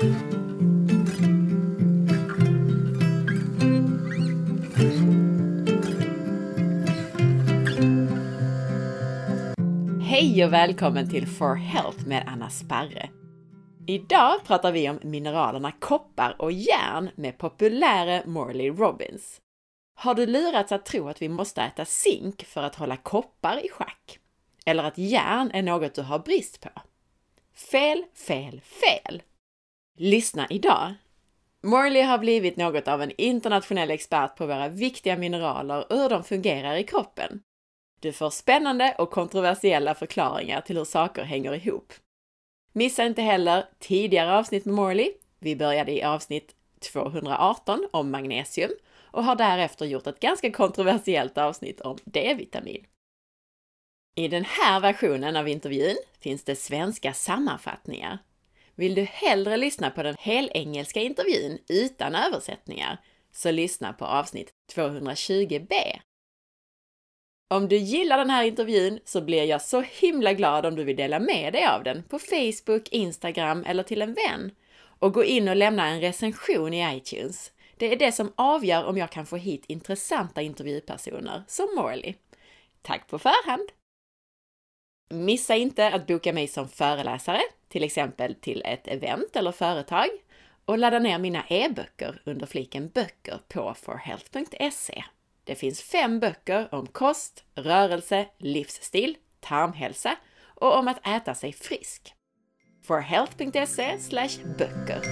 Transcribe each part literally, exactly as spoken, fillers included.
Hej och välkommen till For Health med Anna Sparre. Idag pratar vi om mineralerna koppar och järn med populäre Morley Robbins. Har du lurats att tro att vi måste äta zink för att hålla koppar i schack? Eller att järn är något du har brist på? Fel, fel, fel! Lyssna idag! Morley har blivit något av en internationell expert på våra viktiga mineraler och hur de fungerar i kroppen. Du får spännande och kontroversiella förklaringar till hur saker hänger ihop. Missa inte heller tidigare avsnitt med Morley. Vi började i avsnitt tvåhundraarton om magnesium och har därefter gjort ett ganska kontroversiellt avsnitt om D-vitamin. I den här versionen av intervjun finns det svenska sammanfattningar. Vill du hellre lyssna på den helengelska intervjun utan översättningar så lyssna på avsnitt tvåhundratjugo b. Om du gillar den här intervjun så blir jag så himla glad om du vill dela med dig av den på Facebook, Instagram eller till en vän. Och gå in och lämna en recension i iTunes. Det är det som avgör om jag kan få hit intressanta intervjupersoner som Morley. Tack på förhand! Missa inte att boka mig som föreläsare, till exempel till ett event eller företag. Och ladda ner mina e-böcker under fliken böcker på for health punkt se. Det finns fem böcker om kost, rörelse, livsstil, tarmhälsa och om att äta sig frisk. for health punkt se slash böcker.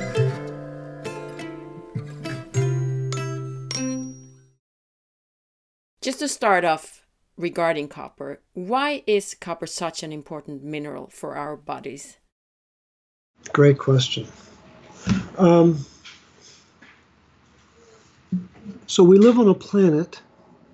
Just to start off regarding copper, why is copper such an important mineral for our bodies? Great question. Um, So we live on a planet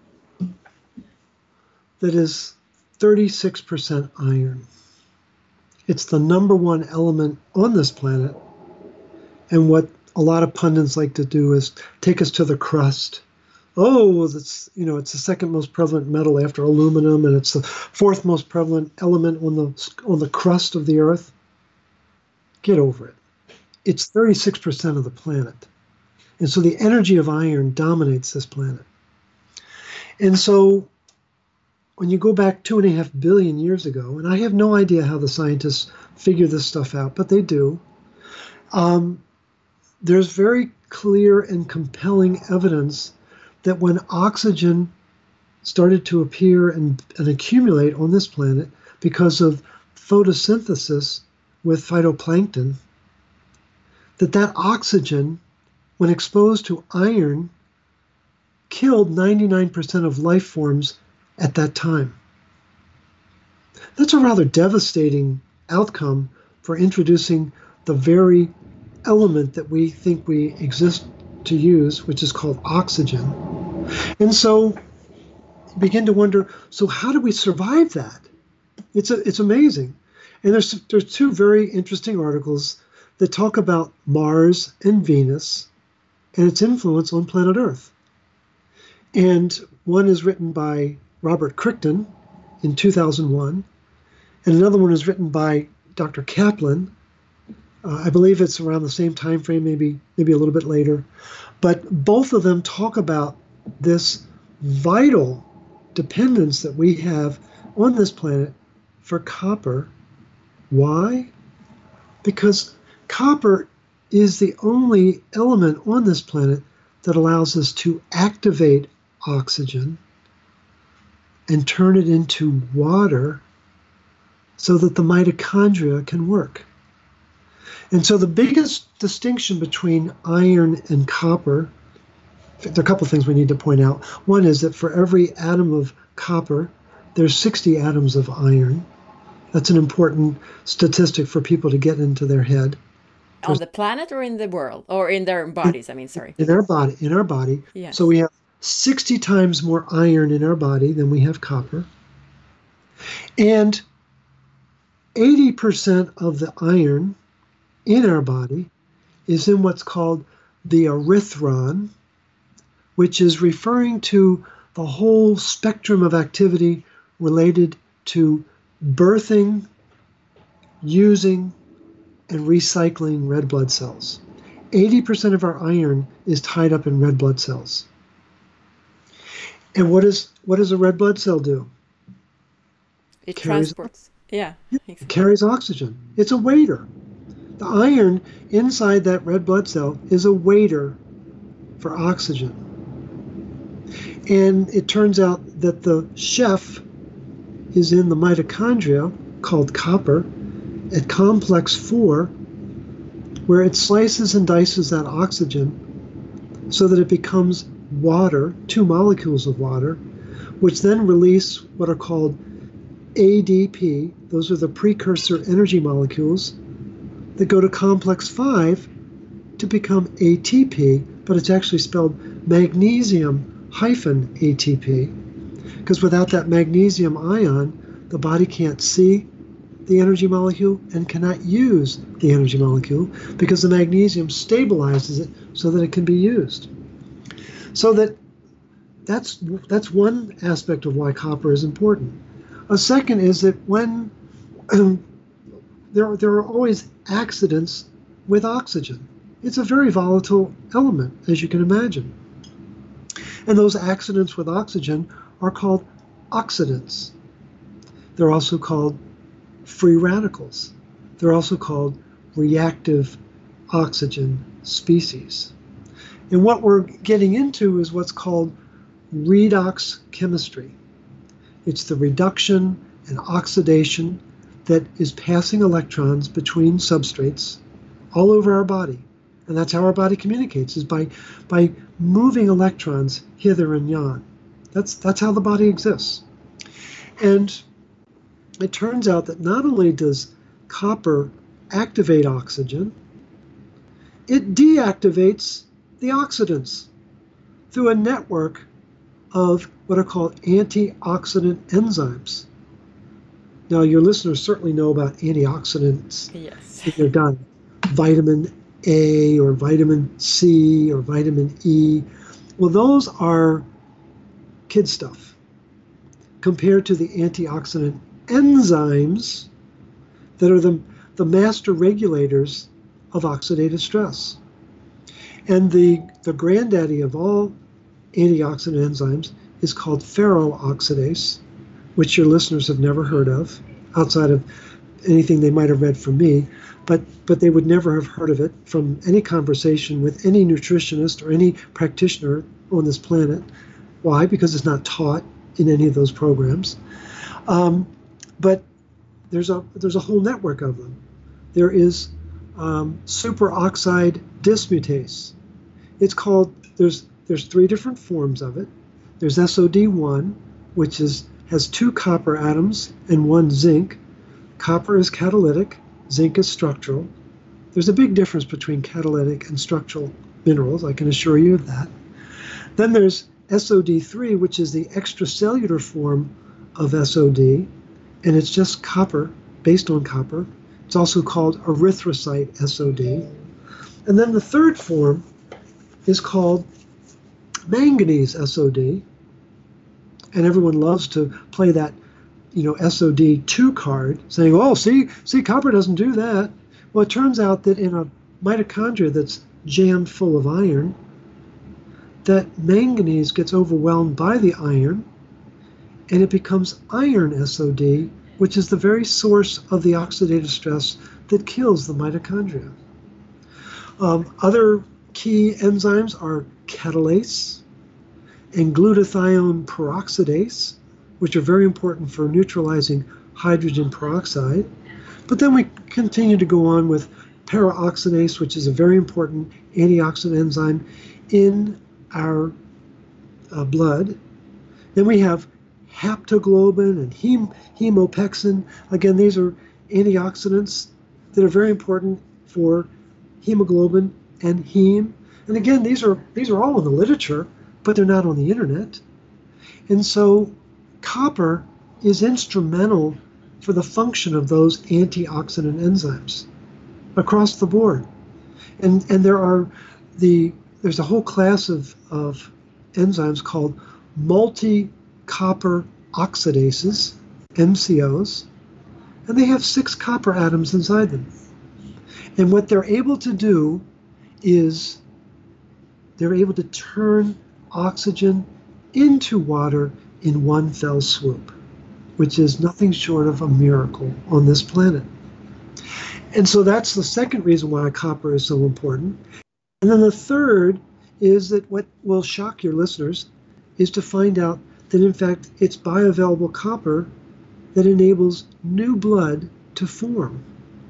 that is thirty-six percent iron. It's the number one element on this planet. And what a lot of pundits like to do is take us to the crust. Oh, it's, you know, it's the second most prevalent metal after aluminum, and it's the fourth most prevalent element on the on the crust of the earth. Get over it. It's thirty-six percent of the planet. And so the energy of iron dominates this planet. And so when you go back two and a half billion years ago, and I have no idea how the scientists figure this stuff out, but they do, um, there's very clear and compelling evidence that when oxygen started to appear and, and accumulate on this planet because of photosynthesis with phytoplankton, that that oxygen, when exposed to iron, killed ninety-nine percent of life forms at that time. That's a rather devastating outcome for introducing the very element that we think we exist to use, which is called oxygen. And so you begin to wonder, so how do we survive that? It's a, it's amazing. And there's, there's two very interesting articles that talk about Mars and Venus and its influence on planet Earth. And one is written by Robert Crichton in two thousand one, and another one is written by Doctor Kaplan. Uh, I believe it's around the same time frame, maybe maybe a little bit later. But both of them talk about this vital dependence that we have on this planet for copper. Why? Because copper is the only element on this planet that allows us to activate oxygen and turn it into water so that the mitochondria can work. And so the biggest distinction between iron and copper, there are a couple of things we need to point out. One is that for every atom of copper, there's sixty atoms of iron. That's an important statistic for people to get into their head. On the planet or in the world? Or in their bodies, I mean, sorry. In our body, in our body. Yes. So we have sixty times more iron in our body than we have copper. And eighty percent of the iron in our body is in what's called the erythron, which is referring to the whole spectrum of activity related to birthing, using, and recycling red blood cells. eighty percent of our iron is tied up in red blood cells. And what, is, what does a red blood cell do? It carries, transports. Yeah. It carries oxygen. It's a waiter. The iron inside that red blood cell is a waiter for oxygen. And it turns out that the chef is in the mitochondria, called copper, at complex four, where it slices and dices that oxygen so that it becomes water, two molecules of water, which then release what are called A D P. Those are the precursor energy molecules that go to complex five to become A T P, but it's actually spelled magnesium hyphen A T P, because without that magnesium ion, the body can't see the energy molecule and cannot use the energy molecule, because the magnesium stabilizes it so that it can be used. So that that's that's one aspect of why copper is important. A second is that when um, there, there are always accidents with oxygen. It's a very volatile element, as you can imagine. And those accidents with oxygen are called oxidants. They're also called free radicals. They're also called reactive oxygen species. And what we're getting into is what's called redox chemistry. It's the reduction and oxidation that is passing electrons between substrates all over our body. And that's how our body communicates, is by, by moving electrons hither and yon. That's, that's how the body exists. And it turns out that not only does copper activate oxygen, it deactivates the oxidants through a network of what are called antioxidant enzymes. Now, your listeners certainly know about antioxidants Yes. in their diet. Vitamin A or vitamin C or vitamin E. Well, those are kid stuff compared to the antioxidant enzymes that are the, the master regulators of oxidative stress. And the, the granddaddy of all antioxidant enzymes is called ferroxidase, which your listeners have never heard of, outside of anything they might have read from me, but, but they would never have heard of it from any conversation with any nutritionist or any practitioner on this planet. Why? Because it's not taught in any of those programs. Um, but there's a, there's a whole network of them. There is um, superoxide dismutase. It's called, there's, there's three different forms of it. There's S O D one, which is, has two copper atoms and one zinc. Copper is catalytic, zinc is structural. There's a big difference between catalytic and structural minerals, I can assure you of that. Then there's S O D three, which is the extracellular form of S O D, and it's just copper, based on copper. It's also called erythrocyte S O D. And then the third form is called manganese S O D, and everyone loves to play that, you know, S O D two card, saying, oh, see, see, copper doesn't do that. Well, it turns out that in a mitochondria that's jammed full of iron, that manganese gets overwhelmed by the iron, and it becomes iron S O D, which is the very source of the oxidative stress that kills the mitochondria. Um, other key enzymes are catalase and glutathione peroxidase, which are very important for neutralizing hydrogen peroxide. But then we continue to go on with peroxidase, which is a very important antioxidant enzyme in our uh, blood. Then we have haptoglobin and hem hemopexin. Again, these are antioxidants that are very important for hemoglobin and heme. And again, these are these are all in the literature, but they're not on the internet. And so copper is instrumental for the function of those antioxidant enzymes across the board. And and there are the there's a whole class of, of enzymes called multi-copper oxidases, M C Os, and they have six copper atoms inside them. And what they're able to do is they're able to turn oxygen into water in one fell swoop, which is nothing short of a miracle on this planet. And so that's the second reason why copper is so important. And then the third is that what will shock your listeners is to find out that, in fact, it's bioavailable copper that enables new blood to form.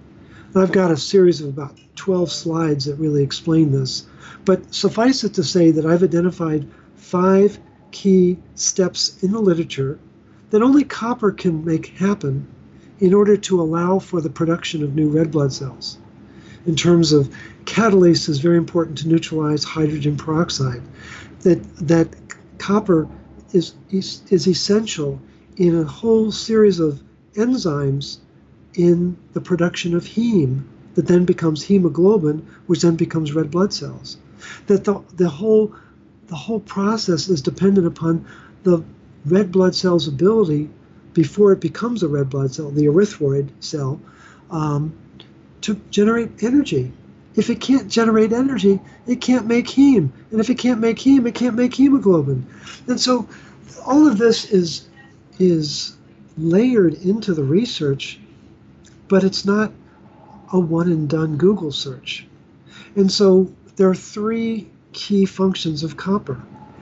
And I've got a series of about twelve slides that really explain this. But suffice it to say that I've identified five key steps in the literature that only copper can make happen in order to allow for the production of new red blood cells. In terms of catalase is very important to neutralize hydrogen peroxide. That that copper is, is, is essential in a whole series of enzymes in the production of heme that then becomes hemoglobin, which then becomes red blood cells. That the, the whole the whole process is dependent upon the red blood cell's ability, before it becomes a red blood cell, the erythroid cell, um, to generate energy. If it can't generate energy, it can't make heme. And if it can't make heme, it can't make hemoglobin. And so all of this is, is layered into the research, but it's not a one and done Google search. And so there are three key functions of copper.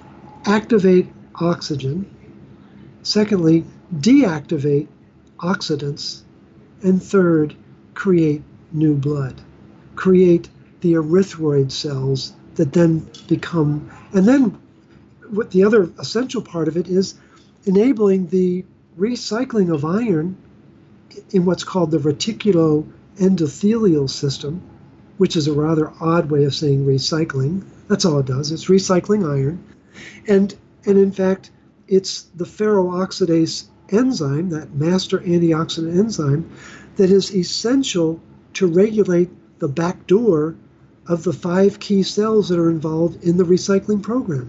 Activate oxygen. Secondly, deactivate oxidants. And third, create new blood. Create the erythroid cells that then become, and then what the other essential part of it is enabling the recycling of iron in what's called the reticuloendothelial system, which is a rather odd way of saying recycling. That's all it does. It's recycling iron. And, and in fact, it's the ferroxidase enzyme, that master antioxidant enzyme, that is essential to regulate the back door of the five key cells that are involved in the recycling program.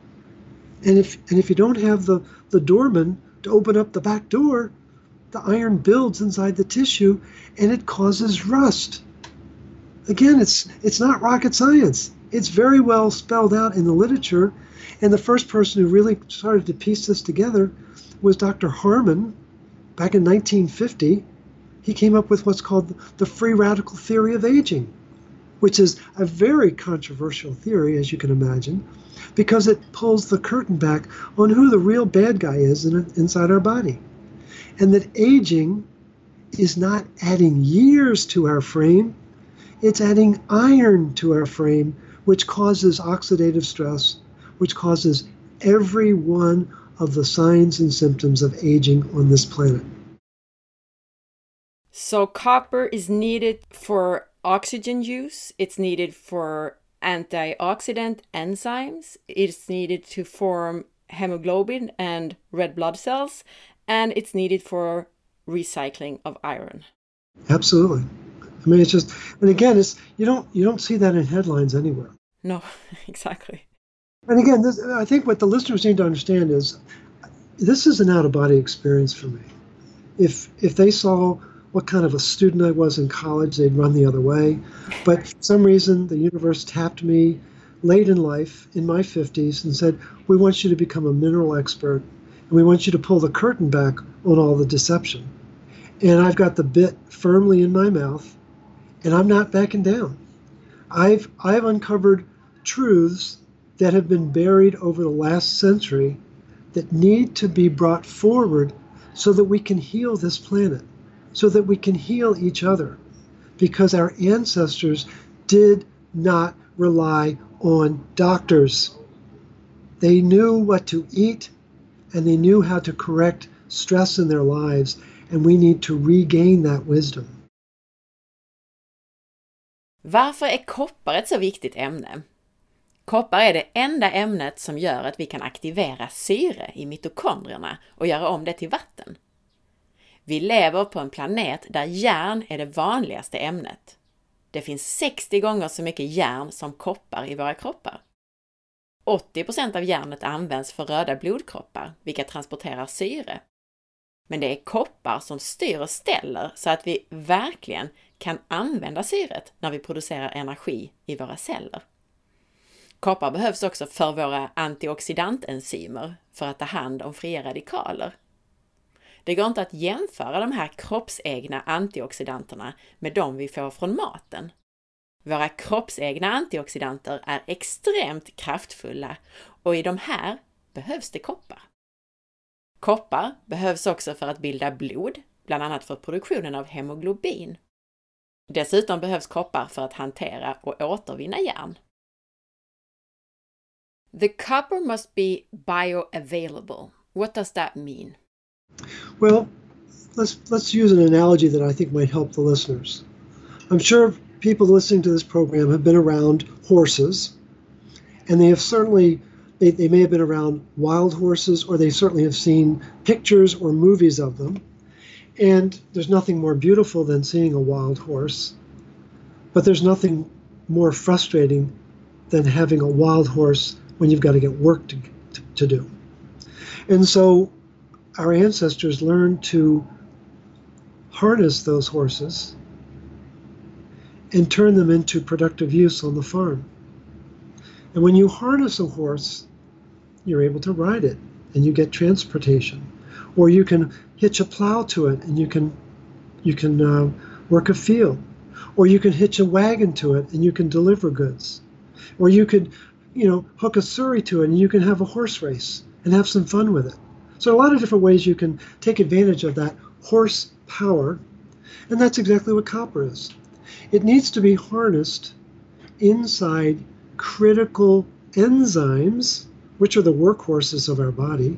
And if, and if you don't have the, the doorman to open up the back door, the iron builds inside the tissue and it causes rust. Again, it's, it's not rocket science. It's very well spelled out in the literature. And the first person who really started to piece this together was Doctor Harman back in nineteen fifty. He came up with what's called the free radical theory of aging, which is a very controversial theory, as you can imagine, because it pulls the curtain back on who the real bad guy is in, inside our body. And that aging is not adding years to our frame, it's adding iron to our frame, which causes oxidative stress, which causes every one of the signs and symptoms of aging on this planet. So copper is needed for oxygen use, it's needed for antioxidant enzymes, it's needed to form hemoglobin and red blood cells, and it's needed for recycling of iron. Absolutely. I mean, it's just, and again, it's you don't you don't see that in headlines anywhere. No, exactly. And again, this, I think what the listeners need to understand is this is an out-of-body experience for me. If if they saw what kind of a student I was in college, they'd run the other way. But for some reason, the universe tapped me late in life, in my fifties, and said, we want you to become a mineral expert, and we want you to pull the curtain back on all the deception. And I've got the bit firmly in my mouth, and I'm not backing down. I've I've uncovered truths that have been buried over the last century that need to be brought forward so that we can heal this planet, so that we can heal each other, because our ancestors did not rely on doctors. They knew what to eat, and they knew how to correct stress in their lives, and we need to regain that wisdom. Varför är koppar ett så viktigt ämne? Koppar är det enda ämnet som gör att vi kan aktivera syre i mitokondrierna och göra om det till vatten. Vi lever på en planet där järn är det vanligaste ämnet. Det finns sextio gånger så mycket järn som koppar i våra kroppar. åttio procent av järnet används för röda blodkroppar, vilka transporterar syre. Men det är koppar som styr och ställer så att vi verkligen kan använda syret när vi producerar energi i våra celler. Koppar behövs också för våra antioxidantenzymer för att ta hand om fria radikaler. Det går inte att jämföra de här kroppsegna antioxidanterna med de vi får från maten. Våra kroppsegna antioxidanter är extremt kraftfulla och i de här behövs det koppar. Koppar behövs också för att bilda blod, bland annat för produktionen av hemoglobin. Dessutom behövs koppar för att hantera och återvinna järn. The copper must be bioavailable. What does that mean? Well, let's let's use an analogy that I think might help the listeners. I'm sure people listening to this program have been around horses, and they have certainly they, they may have been around wild horses, or they certainly have seen pictures or movies of them. And there's nothing more beautiful than seeing a wild horse, but there's nothing more frustrating than having a wild horse when you've got to get work to, to, to do. And so our ancestors learned to harness those horses and turn them into productive use on the farm. And when you harness a horse, you're able to ride it and you get transportation. Or you can hitch a plow to it and you can you can uh, work a field. Or you can hitch a wagon to it and you can deliver goods. Or you could, you know, hook a surrey to it and you can have a horse race and have some fun with it. So a lot of different ways you can take advantage of that horse power, and that's exactly what copper is. It needs to be harnessed inside critical enzymes, which are the workhorses of our body,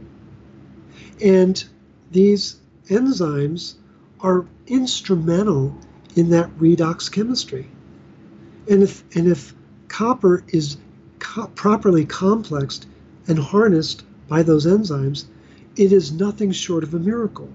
and these enzymes are instrumental in that redox chemistry. And if, and if copper is co- properly complexed and harnessed by those enzymes, it is nothing short of a miracle.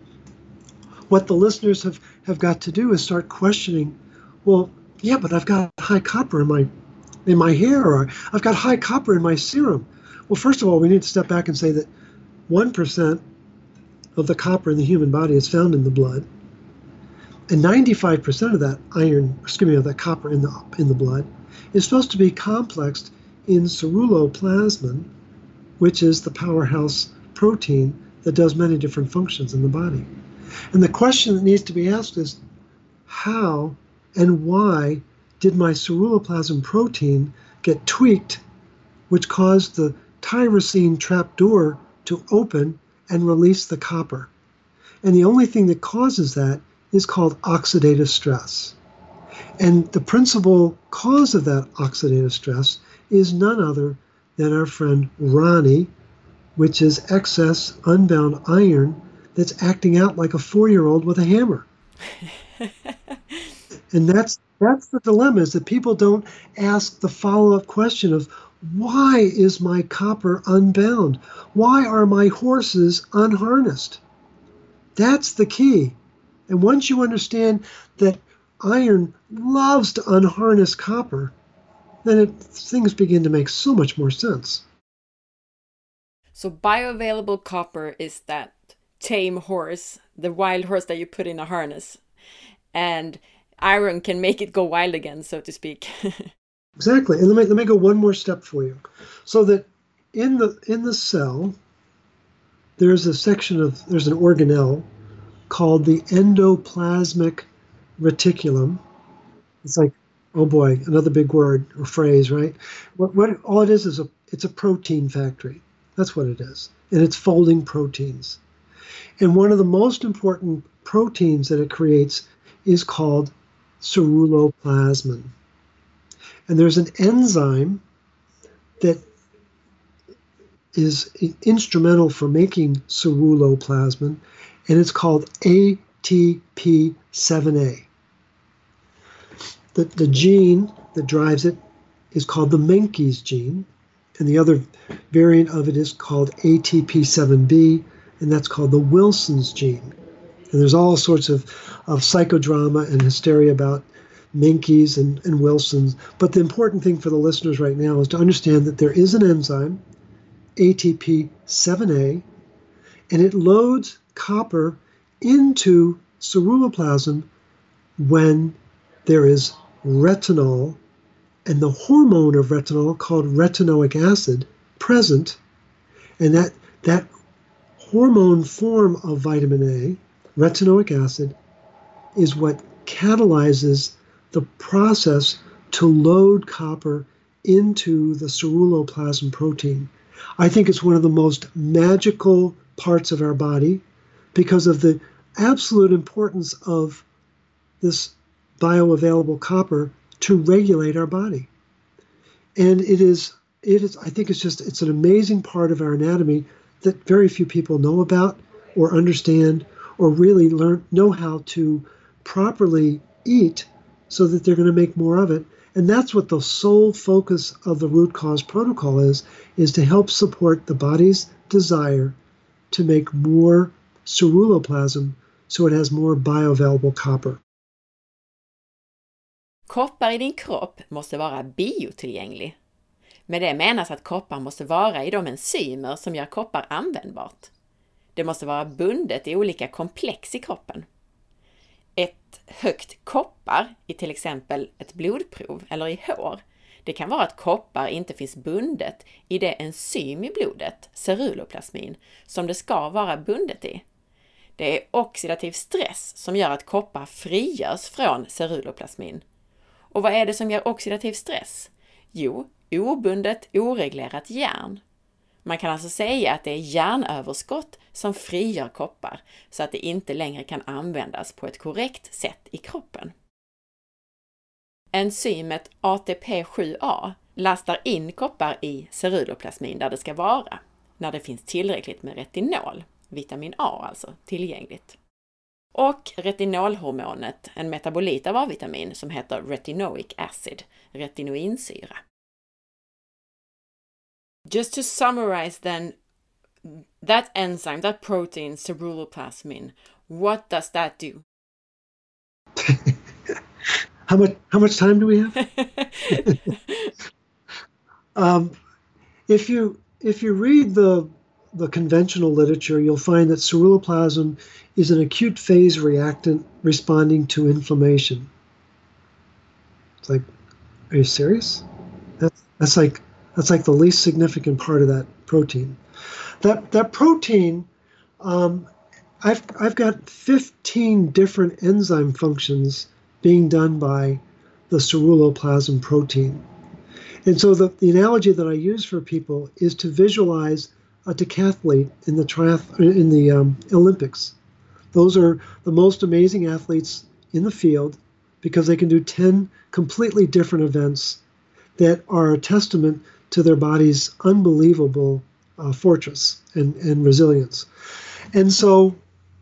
What the listeners have, have got to do is start questioning, well, yeah, but I've got high copper in my in my hair, or I've got high copper in my serum. Well, first of all, we need to step back and say that one percent of the copper in the human body is found in the blood, and ninety-five percent of that iron, excuse me, of that copper in the in the blood is supposed to be complexed in ceruloplasmin, which is the powerhouse protein that does many different functions in the body. And the question that needs to be asked is, how and why did my ceruloplasmin protein get tweaked, which caused the tyrosine trapdoor to open and release the copper? And the only thing that causes that is called oxidative stress. And the principal cause of that oxidative stress is none other than our friend Ronnie, which is excess unbound iron that's acting out like a four-year-old with a hammer. And that's that's the dilemma, is that people don't ask the follow-up question of, why is my copper unbound? Why are my horses unharnessed? That's the key. And once you understand that iron loves to unharness copper, then it, things begin to make so much more sense. So bioavailable copper is that tame horse, the wild horse that you put in a harness, and iron can make it go wild again, so to speak. Exactly. And let me let me go one more step for you. So that in the in the cell, there's a section of there's an organelle called the endoplasmic reticulum. It's like, oh boy, another big word or phrase, right? What what all it is is a it's a protein factory. That's what it is. And it's folding proteins. And one of the most important proteins that it creates is called ceruloplasmin. And there's an enzyme that is instrumental for making ceruloplasmin, and it's called A T P seven A. The, the gene that drives it is called the Menkes gene, and the other variant of it is called A T P seven B, and that's called the Wilson's gene. And there's all sorts of, of psychodrama and hysteria about Menkes and, and Wilson's. But the important thing for the listeners right now is to understand that there is an enzyme, A T P seven A, and it loads copper into ceruloplasm when there is retinol and the hormone of retinol called retinoic acid present, and that that hormone form of vitamin A, retinoic acid, is what catalyzes the process to load copper into the ceruloplasm protein. I think it's one of the most magical parts of our body because of the absolute importance of this bioavailable copper to regulate our body. And it is, it is, I think it's just, it's an amazing part of our anatomy that very few people know about or understand or really learn, know how to properly eat so that they're going to make more of it. And that's what the sole focus of the root cause protocol is, is to help support the body's desire to make more ceruloplasm so it has more bioavailable copper. Koppar i din kropp måste vara biotillgänglig. Med det menas att koppar måste vara i de enzymer som gör koppar användbart. Det måste vara bundet i olika komplex i kroppen. Ett högt koppar i till exempel ett blodprov eller i hår, det kan vara att koppar inte finns bundet i det enzym i blodet, ceruloplasmin, som det ska vara bundet i. Det är oxidativ stress som gör att koppar frigörs från ceruloplasmin. Och vad är det som gör oxidativ stress? Jo, obundet, oreglerat järn. Man kan alltså säga att det är järnöverskott som frigör koppar så att det inte längre kan användas på ett korrekt sätt i kroppen. Enzymet A T P sju A lastar in koppar i ceruloplasmin där det ska vara, när det finns tillräckligt med retinol, vitamin A alltså, tillgängligt. Och retinolhormonet, en metabolit av A-vitamin som heter retinoic acid, retinoinsyra. Just to summarize then, that enzyme, that protein, ceruloplasmin, what does that do? how much how much time do we have? um, if you if you read the the conventional literature, you'll find that ceruloplasm is an acute phase reactant responding to inflammation. It's like, are you serious? That's that's like That's like the least significant part of that protein. That that protein, um, I've I've got fifteen different enzyme functions being done by the ceruloplasm protein. And so the, the analogy that I use for people is to visualize a decathlete in the triath in the um, Olympics. Those are the most amazing athletes in the field because they can do ten completely different events that are a testament to their body's unbelievable uh, fortress and, and resilience. And so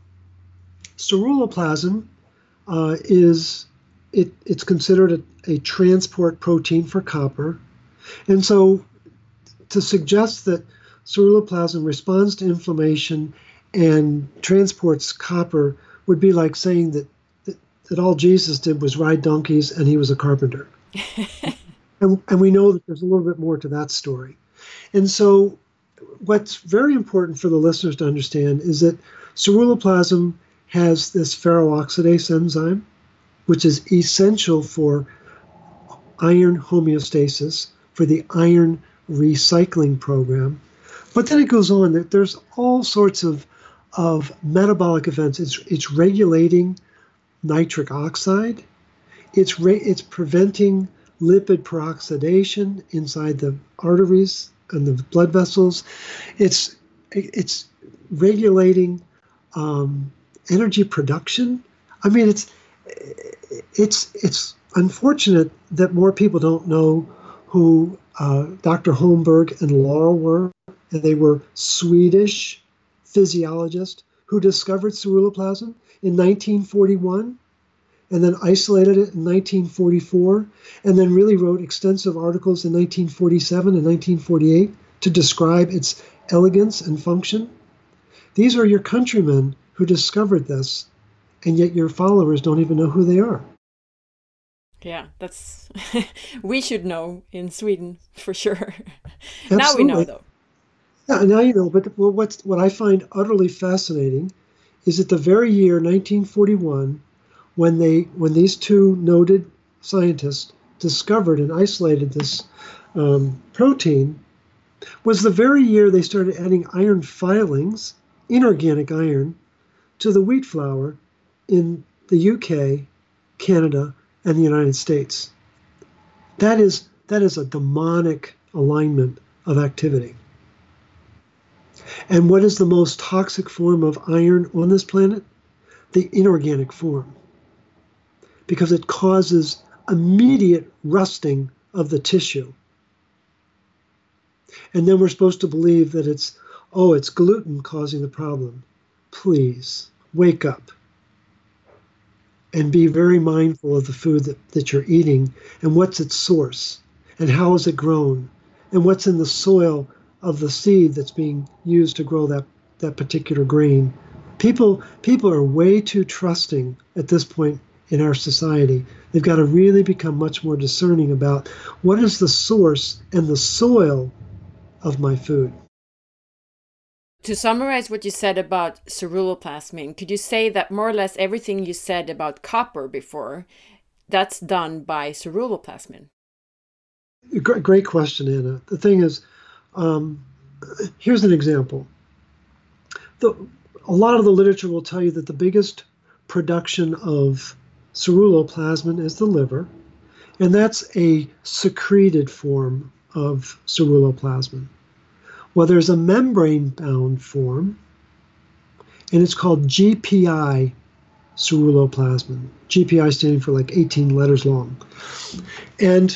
ceruloplasm uh, is, it, it's considered a, a transport protein for copper. And so to suggest that ceruloplasm responds to inflammation and transports copper would be like saying that, that, that all Jesus did was ride donkeys and he was a carpenter. And, and we know that there's a little bit more to that story. And so what's very important for the listeners to understand is that ceruloplasm has this ferroxidase enzyme, which is essential for iron homeostasis, for the iron recycling program. But then it goes on that there's all sorts of, of metabolic events. It's, it's regulating nitric oxide. It's, re, it's preventing lipid peroxidation inside the arteries and the blood vessels. It's it's regulating um, energy production. I mean, it's it's it's unfortunate that more people don't know who uh, Doctor Holmberg and Laurel were. And they were Swedish physiologists who discovered ceruloplasm in nineteen forty-one. And then isolated it in nineteen forty-four, and then really wrote extensive articles in nineteen forty-seven and nineteen forty-eight to describe its elegance and function. These are your countrymen who discovered this, and yet your followers don't even know who they are. Yeah, that's we should know in Sweden for sure. Absolutely. Now we know, though. Yeah, now you know. But well, what's what I find utterly fascinating is that the very year nineteen forty-one, when they when these two noted scientists discovered and isolated this um, protein, was the very year they started adding iron filings, inorganic iron, to the wheat flour in the U K, Canada, and the United States. That is, that is a demonic alignment of activity. And what is the most toxic form of iron on this planet? The inorganic form. Because it causes immediate rusting of the tissue. And then we're supposed to believe that it's, oh, it's gluten causing the problem. Please, wake up. And be very mindful of the food that, that you're eating and what's its source and how is it grown and what's in the soil of the seed that's being used to grow that, that particular grain. People, people are way too trusting at this point in our society. They've got to really become much more discerning about what is the source and the soil of my food. To summarize what you said about ceruloplasmin, could you say that more or less everything you said about copper before, that's done by ceruloplasmin? Great question, Anna. The thing is, um, here's an example. The, a lot of the literature will tell you that the biggest production of ceruloplasmin is the liver, and that's a secreted form of ceruloplasmin. Well, there's a membrane-bound form, and it's called G P I ceruloplasmin. G P I standing for like eighteen letters long. And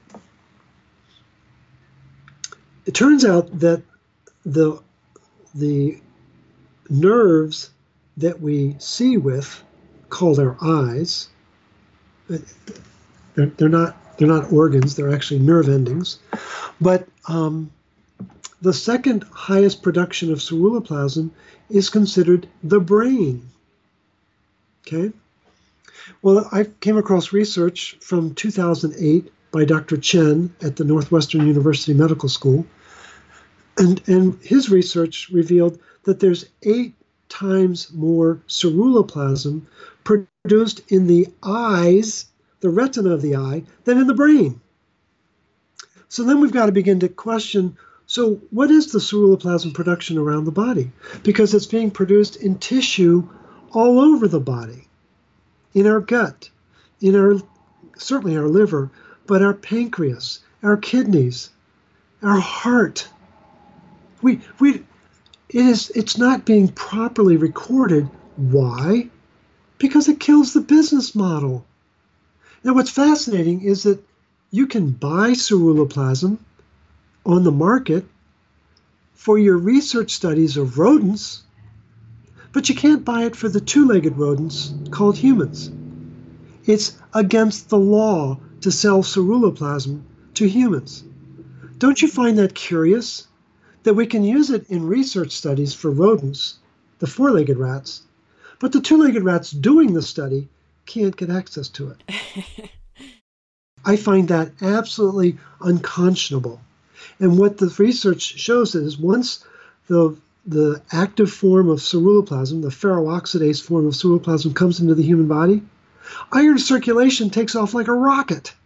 it turns out that the, the nerves that we see with, called our eyes, they're, they're, not, they're not organs, they're actually nerve endings, but um, the second highest production of ceruloplasmin is considered the brain. Okay? Well, I came across research from two thousand eight by Doctor Chen at the Northwestern University Medical School. And, and his research revealed that there's eight times more ceruloplasmin produced in the eyes, the retina of the eye, than in the brain. So then we've got to begin to question, so what is the ceruloplasmin production around the body? Because it's being produced in tissue all over the body, in our gut, in our, certainly our liver, but our pancreas, our kidneys, our heart. We, we, it is, it's not being properly recorded. Why? Because it kills the business model. Now, what's fascinating is that you can buy ceruloplasmin on the market for your research studies of rodents, but you can't buy it for the two-legged rodents called humans. It's against the law to sell ceruloplasmin to humans. Don't you find that curious? That we can use it in research studies for rodents, the four-legged rats, but the two-legged rats doing the study can't get access to it. I find that absolutely unconscionable. And what the research shows is once the, the active form of ceruloplasmin, the ferroxidase form of ceruloplasmin, comes into the human body, iron circulation takes off like a rocket.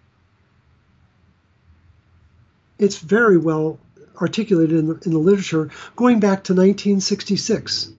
It's very well articulated in the, in the literature going back to nineteen sixty-six.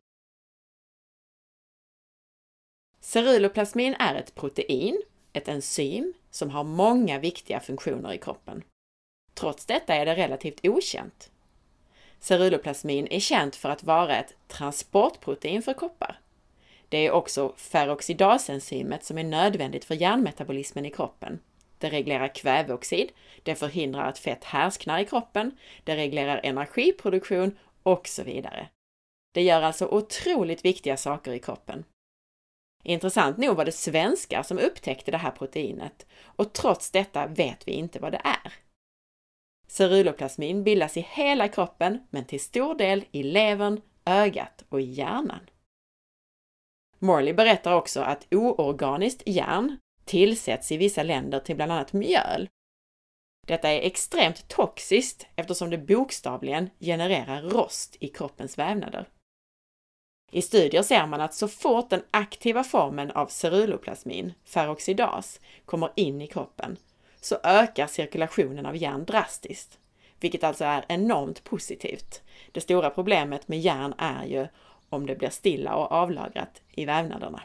Ceruloplasmin är ett protein, ett enzym, som har många viktiga funktioner i kroppen. Trots detta är det relativt okänt. Ceruloplasmin är känt för att vara ett transportprotein för koppar. Det är också ferroxidasenzymet som är nödvändigt för järnmetabolismen i kroppen. Det reglerar kväveoxid, det förhindrar att fett härsknar i kroppen, det reglerar energiproduktion och så vidare. Det gör alltså otroligt viktiga saker i kroppen. Intressant nog var det svenskar som upptäckte det här proteinet och trots detta vet vi inte vad det är. Ceruloplasmin bildas i hela kroppen men till stor del i levern, ögat och i hjärnan. Morley berättar också att oorganiskt järn tillsätts i vissa länder till bland annat mjöl. Detta är extremt toxiskt eftersom det bokstavligen genererar rost i kroppens vävnader. I studier ser man att så fort den aktiva formen av ceruloplasmin, ferroxidas, kommer in i kroppen så ökar cirkulationen av järn drastiskt, vilket alltså är enormt positivt. Det stora problemet med järn är ju om det blir stilla och avlagrat i vävnaderna.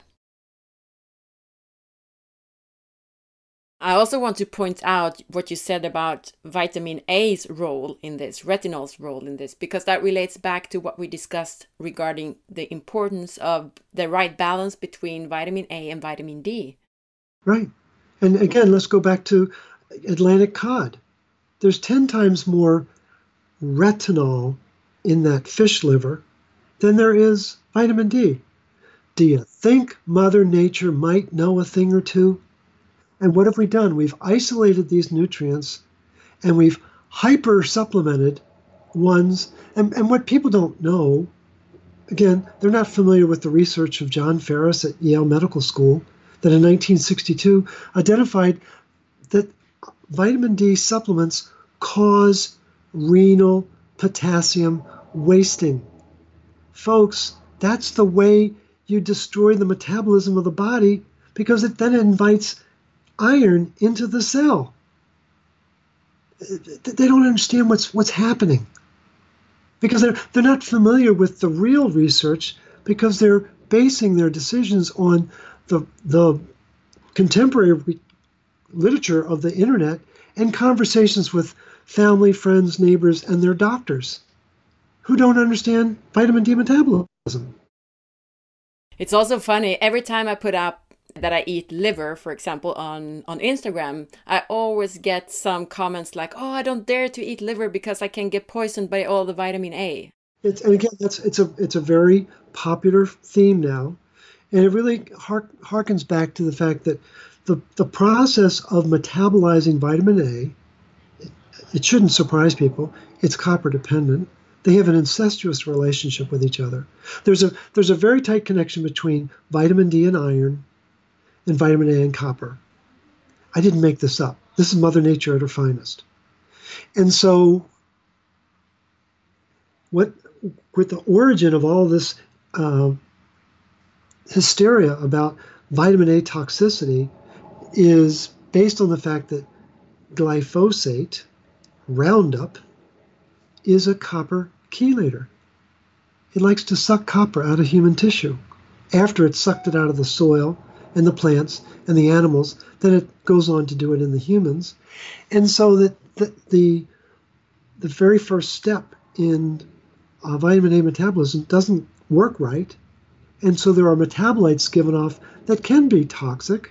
I also want to point out what you said about vitamin A's role in this, retinol's role in this, because that relates back to what we discussed regarding the importance of the right balance between vitamin A and vitamin D. Right. And again, let's go back to Atlantic cod. There's ten times more retinol in that fish liver than there is vitamin D. Do you think Mother Nature might know a thing or two? And what have we done? We've isolated these nutrients and we've hyper supplemented ones. And, and what people don't know, again, they're not familiar with the research of John Ferris at Yale Medical School that in nineteen sixty-two identified that vitamin D supplements cause renal potassium wasting. Folks, that's the way you destroy the metabolism of the body, because it then invites iron into the cell. They don't understand what's what's happening because they're they're not familiar with the real research, because they're basing their decisions on the the contemporary literature of the internet and conversations with family, friends, neighbors, and their doctors who don't understand vitamin D metabolism. It's also funny, every time I put up that I eat liver, for example, on, on Instagram, I always get some comments like, oh, I don't dare to eat liver because I can get poisoned by all the vitamin A. It's, and again, that's it's a it's a very popular theme now. And it really hark, harkens back to the fact that the, the process of metabolizing vitamin A, it, it shouldn't surprise people, it's copper dependent. They have an incestuous relationship with each other. There's a there's a very tight connection between vitamin D and iron, and vitamin A and copper. I didn't make this up. This is Mother Nature at her finest. And so what, with the origin of all this uh, hysteria about vitamin A toxicity is based on the fact that glyphosate, Roundup, is a copper chelator. It likes to suck copper out of human tissue. After it's sucked it out of the soil and the plants and the animals, then it goes on to do it in the humans. And so that the, the, the very first step in uh, vitamin A metabolism doesn't work right. And so there are metabolites given off that can be toxic,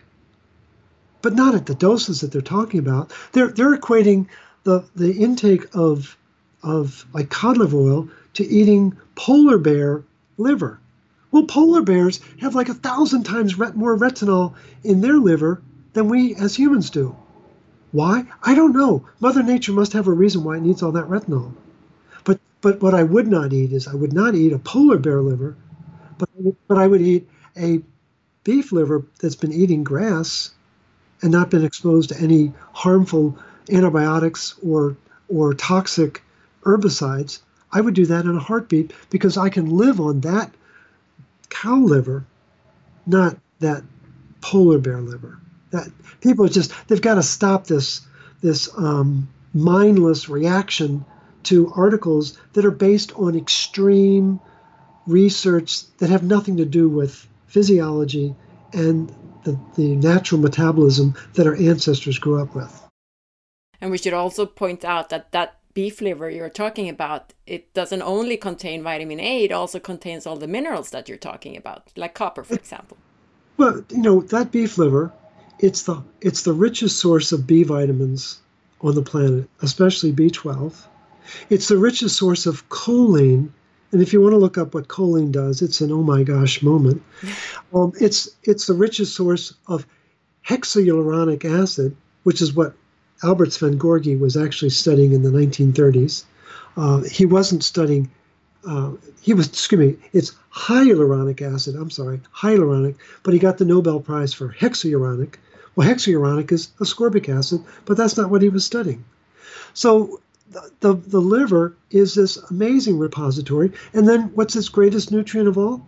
but not at the doses that they're talking about. They're, they're equating the, the intake of, of like cod liver oil to eating polar bear liver. Well, polar bears have like a thousand times ret- more retinol in their liver than we as humans do. Why? I don't know. Mother Nature must have a reason why it needs all that retinol. But but what I would not eat is I would not eat a polar bear liver, but but I would eat a beef liver that's been eating grass and not been exposed to any harmful antibiotics or or toxic herbicides. I would do that in a heartbeat because I can live on that cow liver, not that polar bear liver. That people just, they've got to stop this this um, mindless reaction to articles that are based on extreme research that have nothing to do with physiology and the, the natural metabolism that our ancestors grew up with. And we should also point out that that beef liver you're talking about, it doesn't only contain vitamin A, it also contains all the minerals that you're talking about, like copper, for example. Well, you know, that beef liver, it's the it's the richest source of B vitamins on the planet, especially B twelve. It's the richest source of choline, and if you want to look up what choline does, it's an oh my gosh moment. um, it's it's the richest source of hexahyaluronic acid, which is what Albert Szent-Györgyi was actually studying in the nineteen thirties. Uh, he wasn't studying, uh, he was, excuse me, it's hyaluronic acid, I'm sorry, hyaluronic, but he got the Nobel Prize for hexahyaluronic. Well, hexahyaluronic is ascorbic acid, but that's not what he was studying. So the, the, the liver is this amazing repository. And then what's its greatest nutrient of all?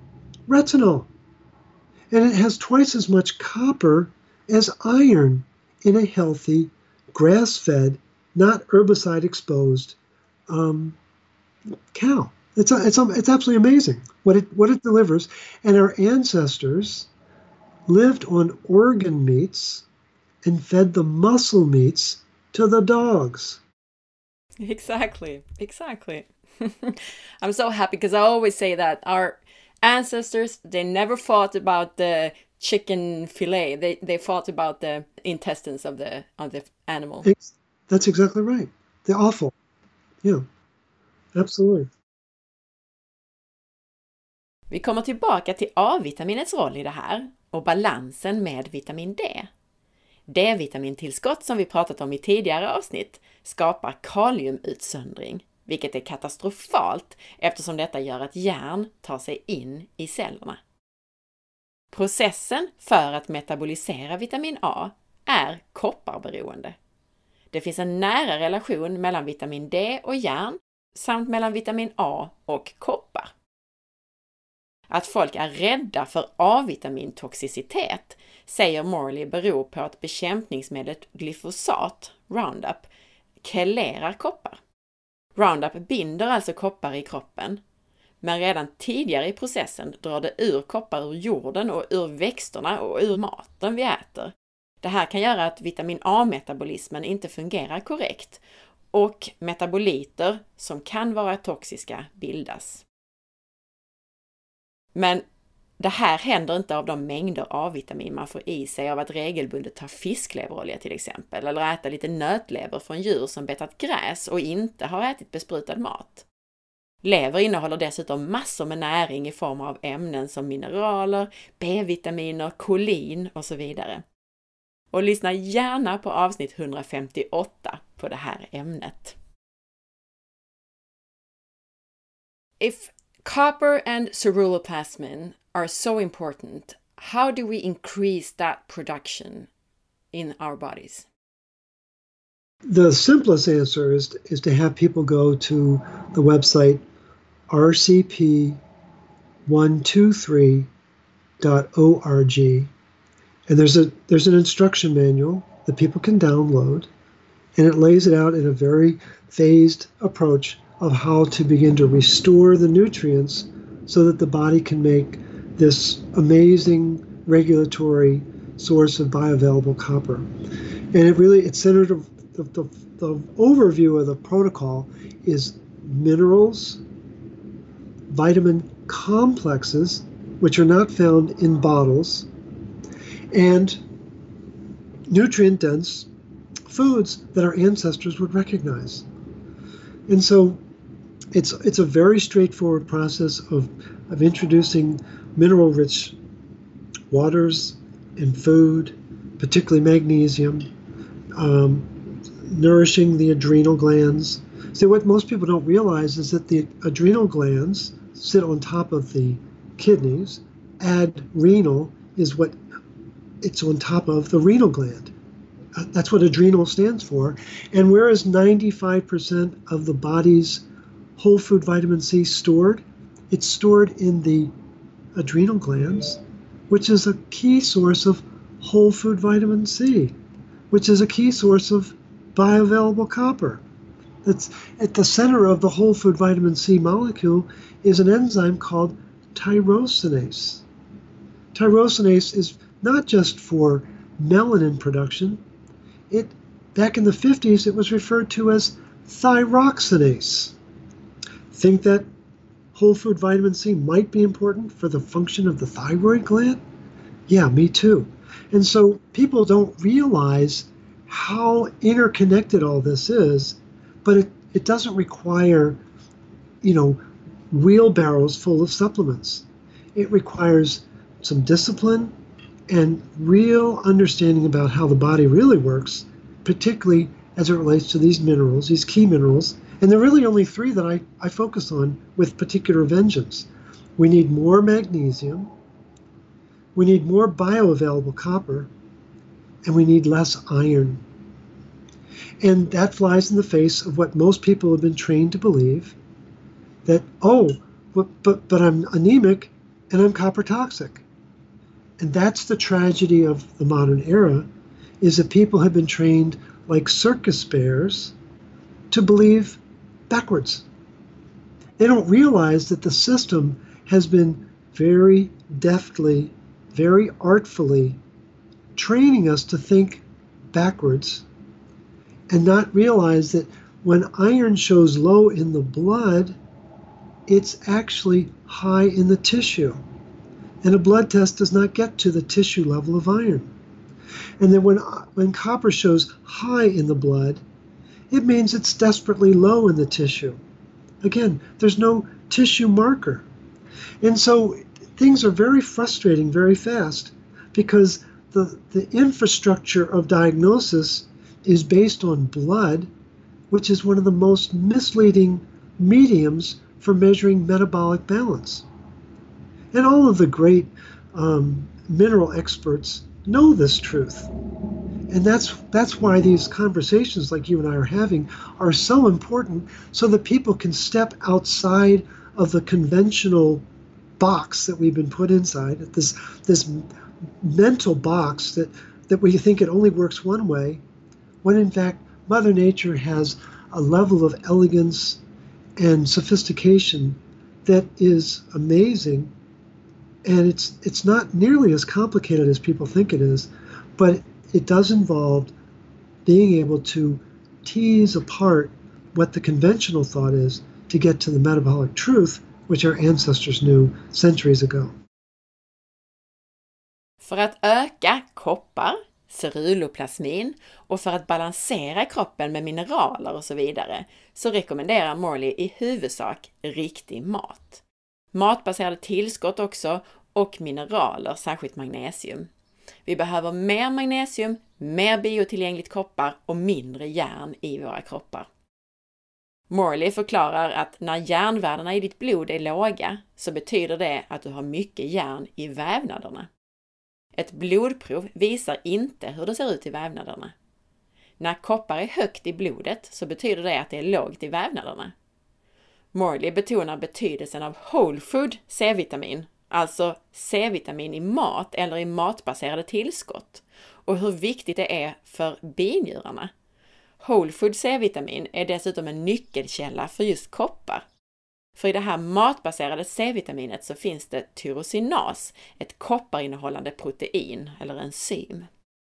retinol. And it has twice as much copper as iron in a healthy, grass-fed, not herbicide-exposed um, cow. It's a, it's a, it's absolutely amazing what it what it delivers. And our ancestors lived on organ meats and fed the muscle meats to the dogs. Exactly, exactly. I'm so happy because I always say that our ancestors, they never fought about the chicken fillet. They they fought about the intestines of the of the animal. It's, that's exactly right. The offal. Yeah, absolutely. Vi kommer tillbaka till A-vitaminets roll i det här och balansen med vitamin D. D-vitamintillskott som vi pratat om i tidigare avsnitt skapar kaliumutsöndring, vilket är katastrofalt eftersom detta gör att järn tar sig in i cellerna. Processen för att metabolisera vitamin A är kopparberoende. Det finns en nära relation mellan vitamin D och järn samt mellan vitamin A och koppar. Att folk är rädda för A-vitamintoxicitet säger Morley beror på att bekämpningsmedlet glyfosat, Roundup, kelerar koppar. Roundup binder alltså koppar i kroppen, men redan tidigare i processen drar det ur koppar ur jorden och ur växterna och ur maten vi äter. Det här kan göra att vitamin A-metabolismen inte fungerar korrekt och metaboliter som kan vara toxiska bildas. Men det här händer inte av de mängder A-vitamin man får i sig av att regelbundet ta fiskleverolja till exempel, eller äta lite nötlever från djur som betat gräs och inte har ätit besprutad mat. Lever innehåller dessutom massor med näring i form av ämnen som mineraler, B-vitaminer, kolin och så vidare. Och lyssna gärna på avsnitt hundrafemtioåtta på det här ämnet. If copper and ceruloplasmin are so important, how do we increase that production in our bodies? The simplest answer is, is to have people go to the website r c p one two three dot org, and there's a there's an instruction manual that people can download, and it lays it out in a very phased approach of how to begin to restore the nutrients so that the body can make this amazing regulatory source of bioavailable copper. And it really, it's centered, the, the, the overview of the protocol is minerals, vitamin complexes, which are not found in bottles, and nutrient-dense foods that our ancestors would recognize. And so it's it's a very straightforward process of, of introducing mineral-rich waters and food, particularly magnesium, um, nourishing the adrenal glands. So what most people don't realize is that the adrenal glands sit on top of the kidneys. Adrenal is what it's on top of the renal gland. That's what adrenal stands for. And where is ninety-five percent of the body's whole food vitamin C stored? It's stored in the adrenal glands, which is a key source of whole food vitamin C, which is a key source of bioavailable copper. It's at the center of the whole food vitamin C molecule is an enzyme called tyrosinase. Tyrosinase is not just for melanin production. It, back in the fifties, it was referred to as thyroxinase. Think that whole food vitamin C might be important for the function of the thyroid gland? Yeah, me too. And so people don't realize how interconnected all this is, but it, it doesn't require, you know, wheelbarrows full of supplements. It requires some discipline and real understanding about how the body really works, particularly as it relates to these minerals, these key minerals. And there are really only three that I, I focus on with particular vengeance. We need more magnesium, we need more bioavailable copper, and we need less iron. And that flies in the face of what most people have been trained to believe, that, oh, but, but, but I'm anemic and I'm copper toxic. And that's the tragedy of the modern era, is that people have been trained like circus bears to believe backwards. They don't realize that the system has been very deftly, very artfully training us to think backwards and not realize that when iron shows low in the blood, it's actually high in the tissue. And a blood test does not get to the tissue level of iron. And then when, when copper shows high in the blood, it means it's desperately low in the tissue. Again, there's no tissue marker. And so things are very frustrating very fast because the, the infrastructure of diagnosis is based on blood, which is one of the most misleading mediums for measuring metabolic balance. And all of the great um, mineral experts know this truth. And that's that's why these conversations like you and I are having are so important, so that people can step outside of the conventional box that we've been put inside, this this mental box that, that we think it only works one way, when in fact Mother Nature has a level of elegance and sophistication that is amazing. And it's it's not nearly as complicated as people think it is, but it does involve being able to tease apart what the conventional thought is to get to the metabolic truth, which our ancestors knew centuries ago. För att öka koppar, ceruloplasmin och för att balansera kroppen med mineraler och så vidare så rekommenderar Morley i huvudsak riktig mat. Matbaserade tillskott också och mineraler, särskilt magnesium. Vi behöver mer magnesium, mer biotillgängligt koppar och mindre järn i våra kroppar. Morley förklarar att när järnvärdena i ditt blod är låga så betyder det att du har mycket järn i vävnaderna. Ett blodprov visar inte hur det ser ut i vävnaderna. När koppar är högt i blodet så betyder det att det är lågt i vävnaderna. Morley betonar betydelsen av whole food C-vitamin, alltså C-vitamin i mat eller i matbaserade tillskott, och hur viktigt det är för binjurarna. Whole food C-vitamin är dessutom en nyckelkälla för just koppar. För i det här matbaserade C-vitaminet så finns det tyrosinas, ett kopparinnehållande protein eller enzym.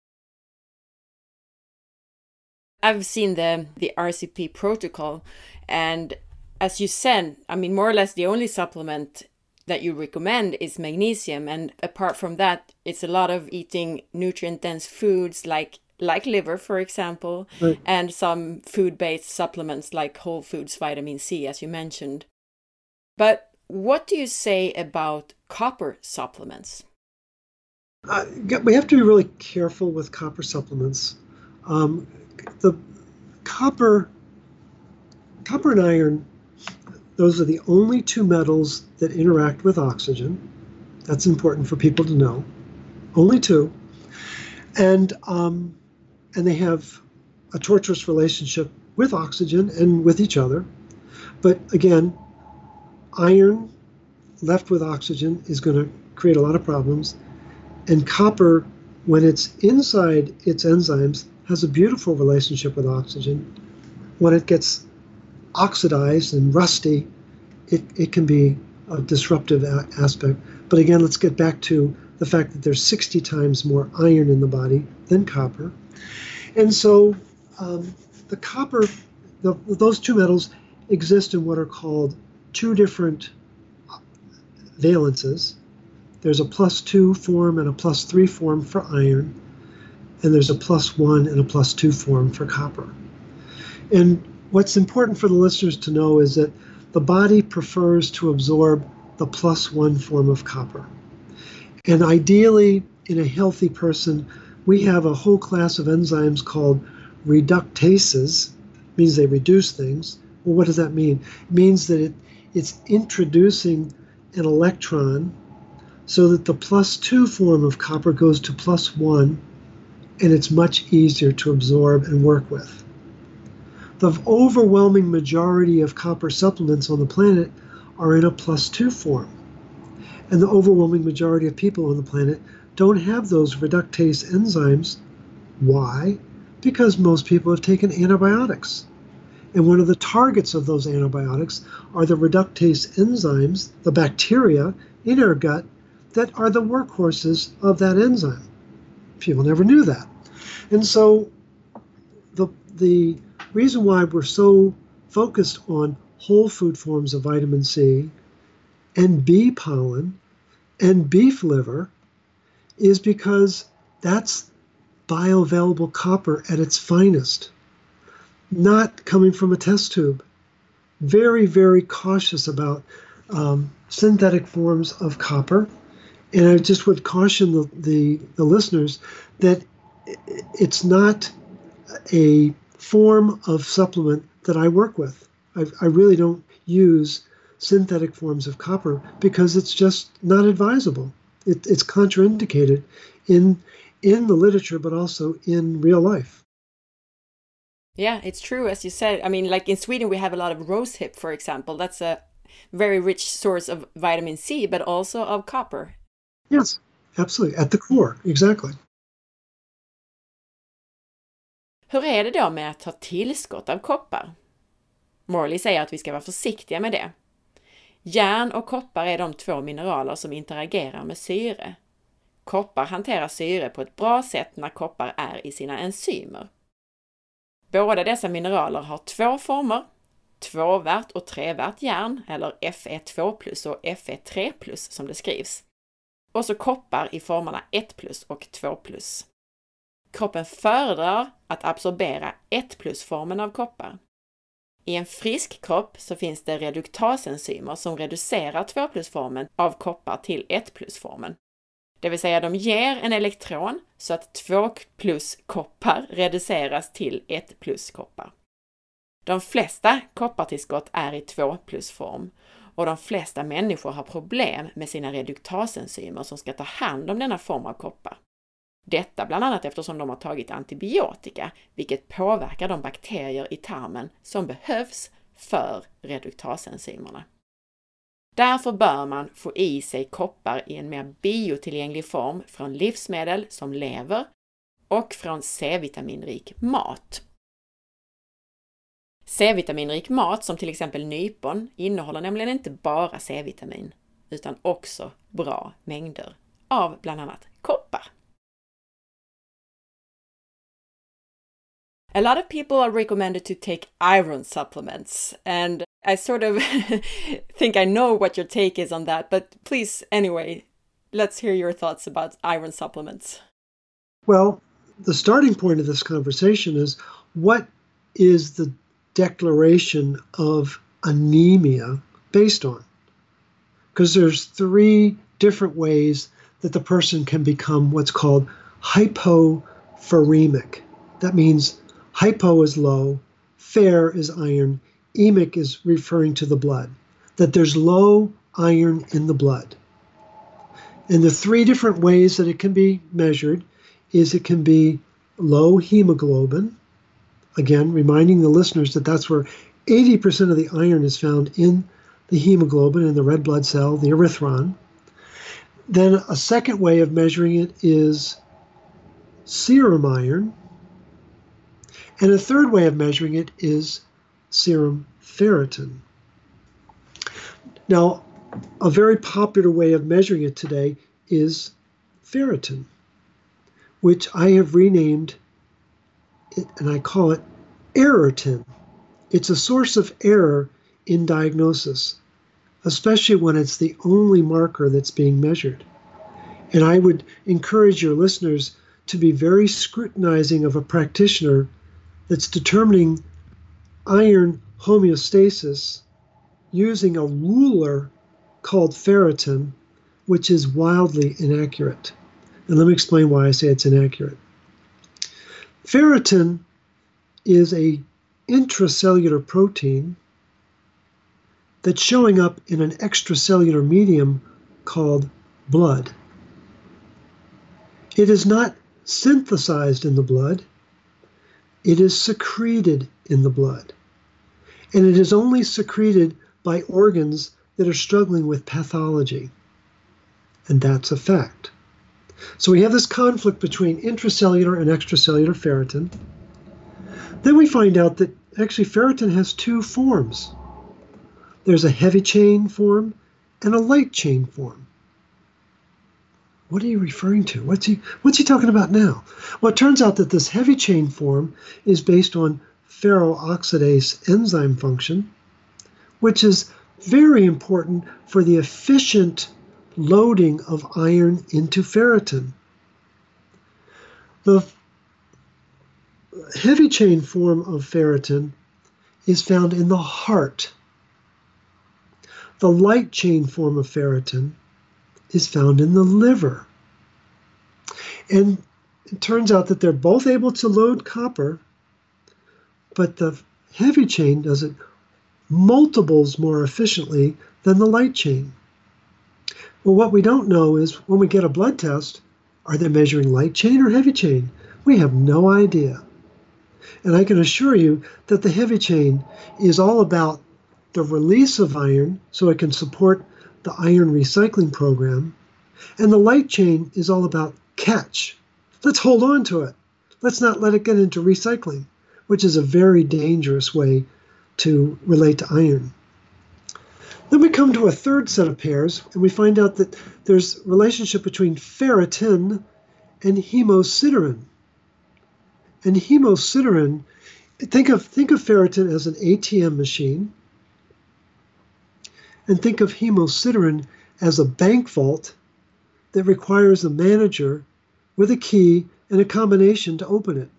I've seen the, the R C P protocol, and as you said, I mean, more or less the only supplement that you recommend is magnesium, and apart from that, it's a lot of eating nutrient-dense foods like like liver, for example, right, and some food-based supplements like whole foods vitamin C, as you mentioned. But what do you say about copper supplements? Uh, we have to be really careful with copper supplements. Um, the copper, copper and iron, those are the only two metals that interact with oxygen. That's important for people to know. Only two. And um, and they have a torturous relationship with oxygen and with each other. But again, iron left with oxygen is going to create a lot of problems. And copper, when it's inside its enzymes, has a beautiful relationship with oxygen. When it gets oxidized and rusty, it, it can be a disruptive a- aspect. But again, let's get back to the fact that there's sixty times more iron in the body than copper. And so um, the copper, the, those two metals exist in what are called two different valences. There's a plus two form and a plus three form for iron, and there's a plus one and a plus two form for copper. And what's important for the listeners to know is that the body prefers to absorb the plus one form of copper. And ideally, in a healthy person, we have a whole class of enzymes called reductases, means they reduce things. Well, what does that mean? It means that it, it's introducing an electron so that the plus two form of copper goes to plus one, and it's much easier to absorb and work with. The overwhelming majority of copper supplements on the planet are in a plus two form. And the overwhelming majority of people on the planet don't have those reductase enzymes. Why? Because most people have taken antibiotics. And one of the targets of those antibiotics are the reductase enzymes, the bacteria in our gut that are the workhorses of that enzyme. People never knew that. And so the, the reason why we're so focused on whole food forms of vitamin C and bee pollen and beef liver is because that's bioavailable copper at its finest, not coming from a test tube. Very, very cautious about um, synthetic forms of copper. And I just would caution the, the, the listeners that it's not a form of supplement that I work with. I, I really don't use synthetic forms of copper because it's just not advisable. It, it's contraindicated in in the literature, but also in real life. Yeah, it's true, as you said. I mean, like in Sweden, we have a lot of rosehip, for example. That's a very rich source of vitamin C, but also of copper. Yes, absolutely. At the core, exactly. Hur är det då med att ta tillskott av koppar? Morley säger att vi ska vara försiktiga med det. Järn och koppar är de två mineraler som interagerar med syre. Koppar hanterar syre på ett bra sätt när koppar är i sina enzymer. Båda dessa mineraler har två former, tvåvärt och trevärt järn, eller F E två plus och F E tre plus som det skrivs. Och så koppar i formerna ett plus och två plus. Kroppen föredrar att absorbera ett plus-formen av koppar. I en frisk kropp så finns det reduktasenzymer som reducerar två plus-formen av koppar till ett plus-formen. Det vill säga de ger en elektron så att två plus koppar reduceras till ett plus koppar. De flesta koppartillskott är i två plus-form och de flesta människor har problem med sina reduktasenzymer som ska ta hand om denna form av koppar. Detta bland annat eftersom de har tagit antibiotika, vilket påverkar de bakterier i tarmen som behövs för reduktasenzymerna. Därför bör man få i sig koppar i en mer biotillgänglig form från livsmedel som lever och från C-vitaminrik mat. C-vitaminrik mat som till exempel nypon innehåller nämligen inte bara C-vitamin utan också bra mängder av bland annat koppar. A lot of people are recommended to take iron supplements, and I sort of think I know what your take is on that, but please, anyway, let's hear your thoughts about iron supplements. Well, the starting point of this conversation is what is the declaration of anemia based on? Because there's three different ways that the person can become what's called hypopheremic. That means hypo is low, fer is iron, emic is referring to the blood, that there's low iron in the blood. And the three different ways that it can be measured is it can be low hemoglobin, again, reminding the listeners that that's where eighty percent of the iron is found in the hemoglobin, in the red blood cell, the erythron. Then a second way of measuring it is serum iron. And a third way of measuring it is serum ferritin. Now, a very popular way of measuring it today is ferritin, which I have renamed it, and I call it errortin. It's a source of error in diagnosis, especially when it's the only marker that's being measured. And I would encourage your listeners to be very scrutinizing of a practitioner that's determining iron homeostasis using a ruler called ferritin, which is wildly inaccurate. And let me explain why I say it's inaccurate. Ferritin is a intracellular protein that's showing up in an extracellular medium called blood. It is not synthesized in the blood. It is secreted in the blood. And it is only secreted by organs that are struggling with pathology. and that's a fact. So we have this conflict between intracellular and extracellular ferritin. Then we find out that actually ferritin has two forms. There's a heavy chain form and a light chain form. What are you referring to? What's he, what's he talking about now? Well, it turns out that this heavy chain form is based on ferroxidase enzyme function, which is very important for the efficient loading of iron into ferritin. The heavy chain form of ferritin is found in the heart. The light chain form of ferritin is found in the liver. And it turns out that they're both able to load copper, but the heavy chain does it multiples more efficiently than the light chain. Well, what we don't know is when we get a blood test, are they measuring light chain or heavy chain? We have no idea. And I can assure you that the heavy chain is all about the release of iron so it can support the iron recycling program. And the light chain is all about catch. Let's hold on to it. Let's not let it get into recycling, which is a very dangerous way to relate to iron. Then we come to a third set of pairs, and we find out that there's a relationship between ferritin and hemosiderin. And hemosiderin, think of, think of ferritin as an A T M machine, and think of hemosiderin as a bank vault that requires a manager with a key and a combination to open it.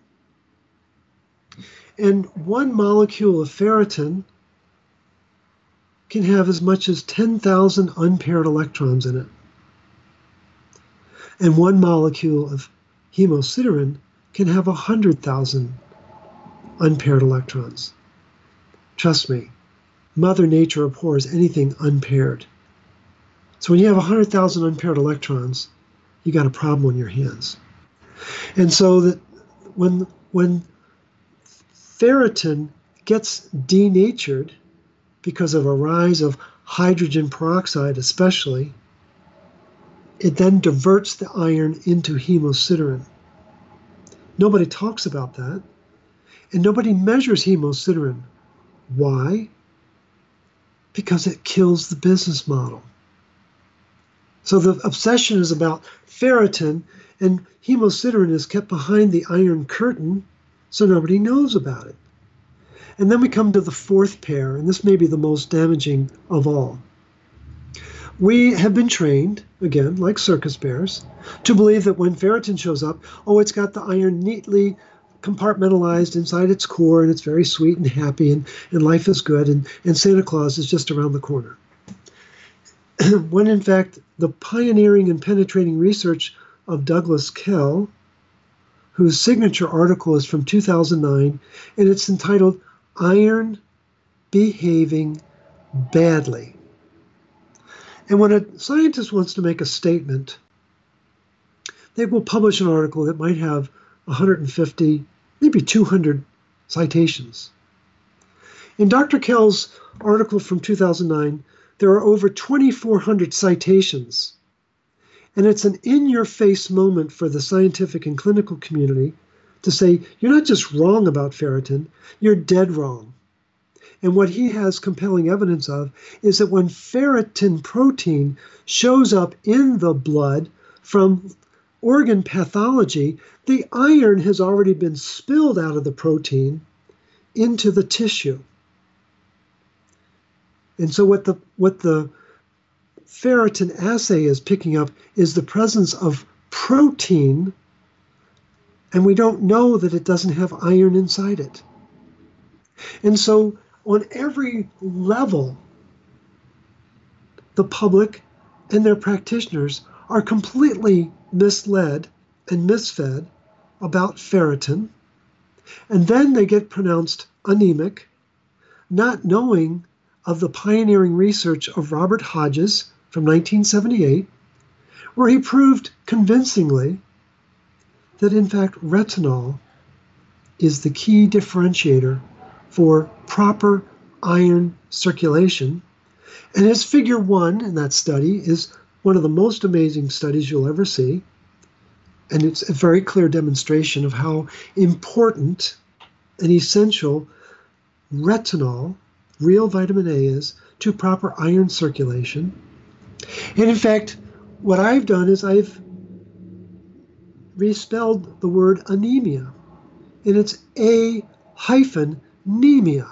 And one molecule of ferritin can have as much as ten thousand unpaired electrons in it. And one molecule of hemosiderin can have one hundred thousand unpaired electrons. Trust me, Mother Nature abhors anything unpaired. So when you have one hundred thousand unpaired electrons, you got a problem on your hands. And so that when, when ferritin gets denatured because of a rise of hydrogen peroxide especially, it then diverts the iron into hemosiderin. Nobody talks about that, and nobody measures hemosiderin. Why? Because it kills the business model. So the obsession is about ferritin, and hemosiderin is kept behind the iron curtain, so nobody knows about it. And then we come to the fourth pair, and this may be the most damaging of all. We have been trained, again, like circus bears, to believe that when ferritin shows up, oh, it's got the iron neatly compartmentalized inside its core, and it's very sweet and happy, and, and life is good, and, and Santa Claus is just around the corner. When, in fact, the pioneering and penetrating research of Douglas Kell, whose signature article is from two thousand nine, and it's entitled Iron Behaving Badly. And when a scientist wants to make a statement, they will publish an article that might have one hundred fifty, maybe two hundred citations. In Doctor Kell's article from two thousand nine, there are over twenty-four hundred citations. And it's an in-your-face moment for the scientific and clinical community to say, you're not just wrong about ferritin, you're dead wrong. And what he has compelling evidence of is that when ferritin protein shows up in the blood from organ pathology, the iron has already been spilled out of the protein into the tissue. And so what the what the ferritin assay is picking up is the presence of protein, and we don't know that it doesn't have iron inside it. And so on every level, the public and their practitioners are completely misled and misfed about ferritin, and then they get pronounced anemic, not knowing of the pioneering research of Robert Hodges from nineteen seventy-eight, where he proved convincingly that in fact retinol is the key differentiator for proper iron circulation. And his figure one in that study is one of the most amazing studies you'll ever see. And it's a very clear demonstration of how important and essential retinol, real vitamin A, is to proper iron circulation. And in fact, what I've done is I've respelled the word anemia, and it's A hyphen anemia.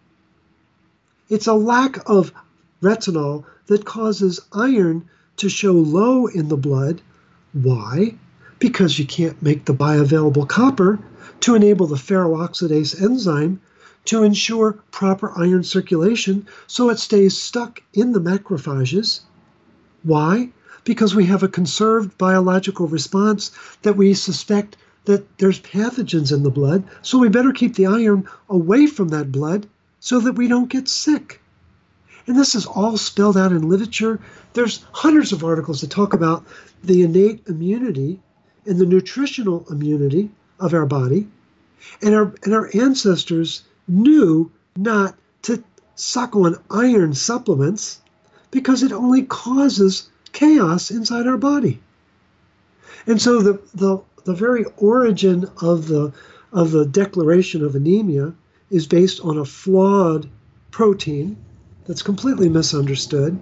It's a lack of retinol that causes iron to show low in the blood. Why? Because you can't make the bioavailable copper to enable the ferrooxidase enzyme to ensure proper iron circulation so it stays stuck in the macrophages. Why? Because we have a conserved biological response that we suspect that there's pathogens in the blood, so we better keep the iron away from that blood so that we don't get sick. And this is all spelled out in literature. There's hundreds of articles that talk about the innate immunity and the nutritional immunity of our body. And our, and our ancestors knew not to suck on iron supplements because it only causes chaos inside our body. And so the, the, the very origin of the, of the declaration of anemia is based on a flawed protein that's completely misunderstood.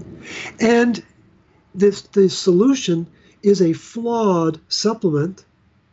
And this, the solution is a flawed supplement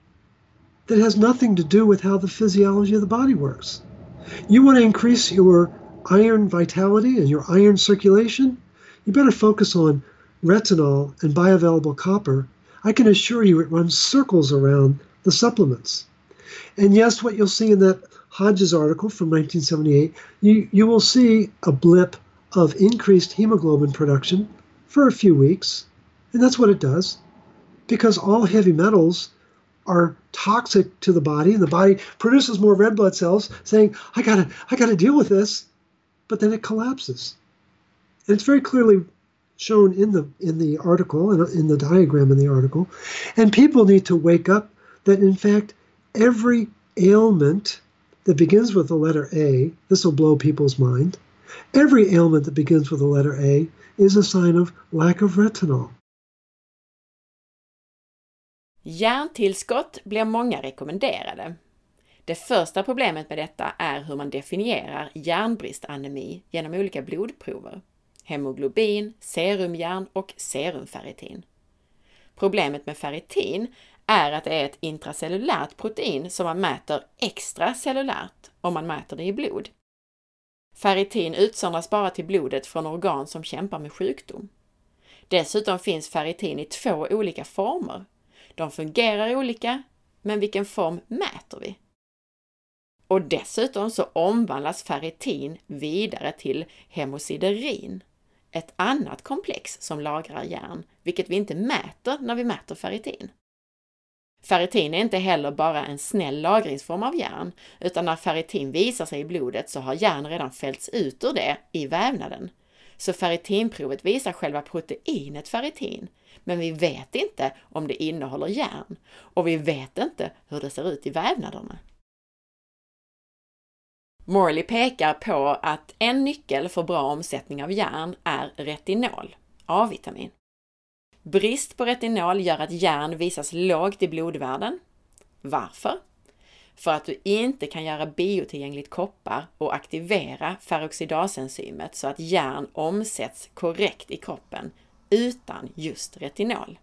that has nothing to do with how the physiology of the body works. You want to increase your iron vitality and your iron circulation? You better focus on retinol and bioavailable copper. I can assure you it runs circles around the supplements. And yes, what you'll see in that Hodges article from nineteen seventy-eight, you, you will see a blip of increased hemoglobin production for a few weeks. And that's what it does, because all heavy metals are toxic to the body, and the body produces more red blood cells saying, I gotta, I gotta deal with this, but then it collapses. And it's very clearly shown in the in the article, and in the diagram in the article. And people need to wake up that, in fact, every ailment that begins with the letter A, this will blow people's mind, every ailment that begins with the letter A is a sign of lack of retinol. Järntillskott blir många rekommenderade. Det första problemet med detta är hur man definierar järnbristanemi genom olika blodprover. Hemoglobin, serumjärn och serumferritin. Problemet med ferritin är att det är ett intracellulärt protein som man mäter extracellulärt om man mäter det i blod. Ferritin utsöndras bara till blodet från organ som kämpar med sjukdom. Dessutom finns ferritin i två olika former. De fungerar olika, men vilken form mäter vi? Och dessutom så omvandlas ferritin vidare till hemosiderin, ett annat komplex som lagrar järn, vilket vi inte mäter när vi mäter ferritin. Ferritin är inte heller bara en snäll lagringsform av järn, utan när ferritin visar sig i blodet så har järn redan fällts ut ur det i vävnaden. Så ferritinprovet visar själva proteinet ferritin, men vi vet inte om det innehåller järn, och vi vet inte hur det ser ut i vävnaderna. Morley pekar på att en nyckel för bra omsättning av järn är retinol, A-vitamin. Brist på retinol gör att järn visas lågt i blodvärden. Varför? För att du inte kan göra biotillgängligt koppar och aktivera ferroxidasenzymet så att järn omsätts korrekt i kroppen utan just retinol.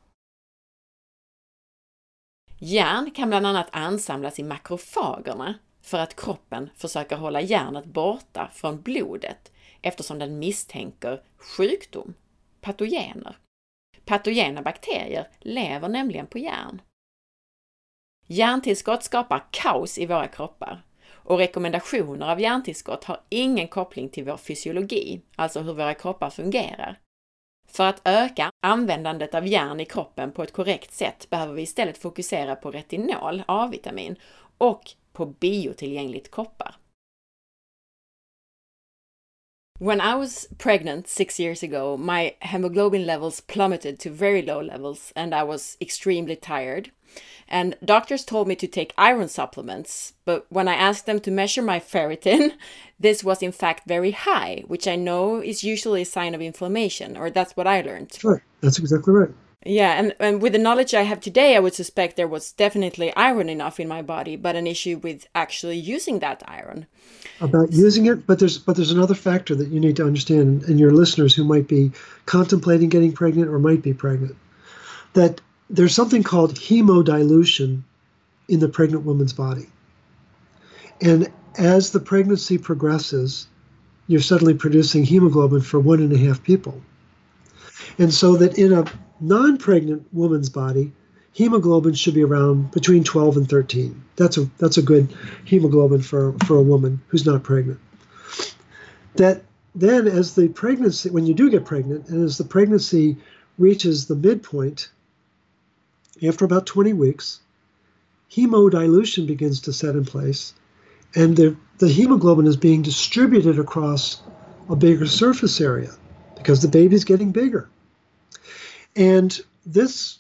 Järn kan bland annat ansamlas i makrofagerna för att kroppen försöker hålla järnet borta från blodet eftersom den misstänker sjukdom, patogener. Patogena bakterier lever nämligen på järn. Järntillskott skapar kaos i våra kroppar, och rekommendationer av järntillskott har ingen koppling till vår fysiologi, alltså hur våra kroppar fungerar. För att öka användandet av järn i kroppen på ett korrekt sätt behöver vi istället fokusera på retinol, A-vitamin, och på biotillgängligt koppar. When I was pregnant six years ago, my hemoglobin levels plummeted to very low levels and I was extremely tired. And doctors told me to take iron supplements, but when I asked them to measure my ferritin, this was in fact very high, which I know is usually a sign of inflammation, or that's what I learned. That's right. That's exactly right. Yeah, and, and with the knowledge I have today, I would suspect there was definitely iron enough in my body, but an issue with actually using that iron. About using it, but there's but there's another factor that you need to understand, and your listeners who might be contemplating getting pregnant or might be pregnant, that there's something called hemodilution in the pregnant woman's body. And as the pregnancy progresses, you're suddenly producing hemoglobin for one and a half people. And so that in a non-pregnant woman's body, hemoglobin should be around between twelve and thirteen. That's a that's a good hemoglobin for, for a woman who's not pregnant. That then as the pregnancy, when you do get pregnant, and as the pregnancy reaches the midpoint, after about twenty weeks, hemodilution begins to set in place, and the, the hemoglobin is being distributed across a bigger surface area because the baby's getting bigger. And this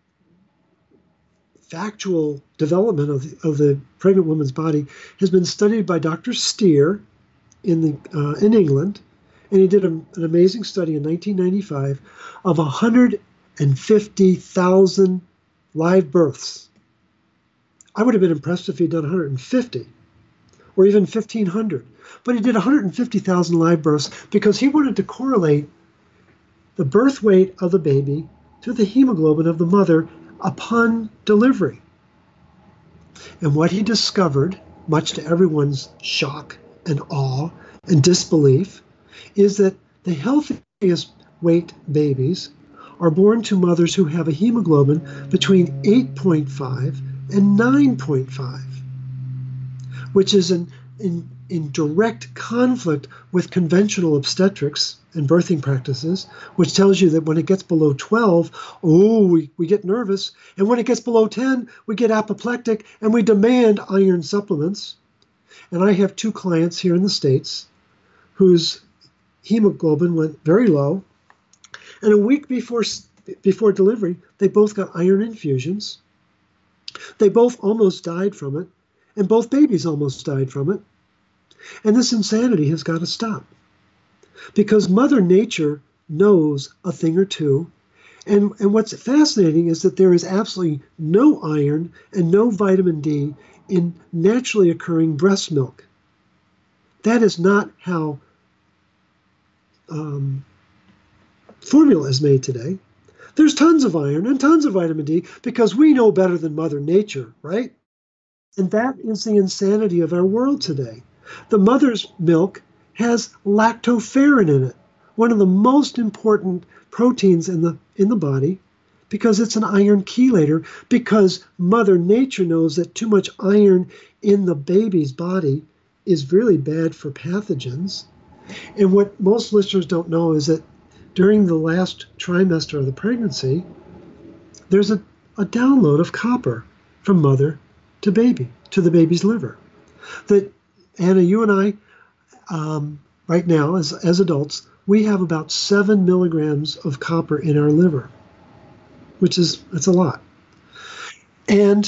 factual development of the, of the pregnant woman's body has been studied by Doctor Steer in the uh, in England, and he did a, an amazing study in nineteen ninety-five of one hundred fifty thousand live births. I would have been impressed if he'd done one hundred fifty or even fifteen hundred, but he did one hundred fifty thousand live births because he wanted to correlate the birth weight of the baby to the hemoglobin of the mother upon delivery. And what he discovered, much to everyone's shock and awe and disbelief, is that the healthiest weight babies are born to mothers who have a hemoglobin between eight point five and nine point five, which is in, in, in direct conflict with conventional obstetrics and birthing practices, which tells you that when it gets below twelve, oh, we, we get nervous. And when it gets below ten, we get apoplectic and we demand iron supplements. And I have two clients here in the States whose hemoglobin went very low. And a week before, before delivery, they both got iron infusions. They both almost died from it. And both babies almost died from it. And this insanity has got to stop. Because Mother Nature knows a thing or two. And, and what's fascinating is that there is absolutely no iron and no vitamin D in naturally occurring breast milk. That is not how um, formula is made today. There's tons of iron and tons of vitamin D because we know better than Mother Nature, right? And that is the insanity of our world today. The mother's milk has lactoferrin in it, one of the most important proteins in the in the body, because it's an iron chelator, because Mother Nature knows that too much iron in the baby's body is really bad for pathogens. And what most listeners don't know is that during the last trimester of the pregnancy, there's a, a download of copper from mother to baby, to the baby's liver. That, Anna, you and I, Um, right now, as, as adults, we have about seven milligrams of copper in our liver, which is, that's a lot. And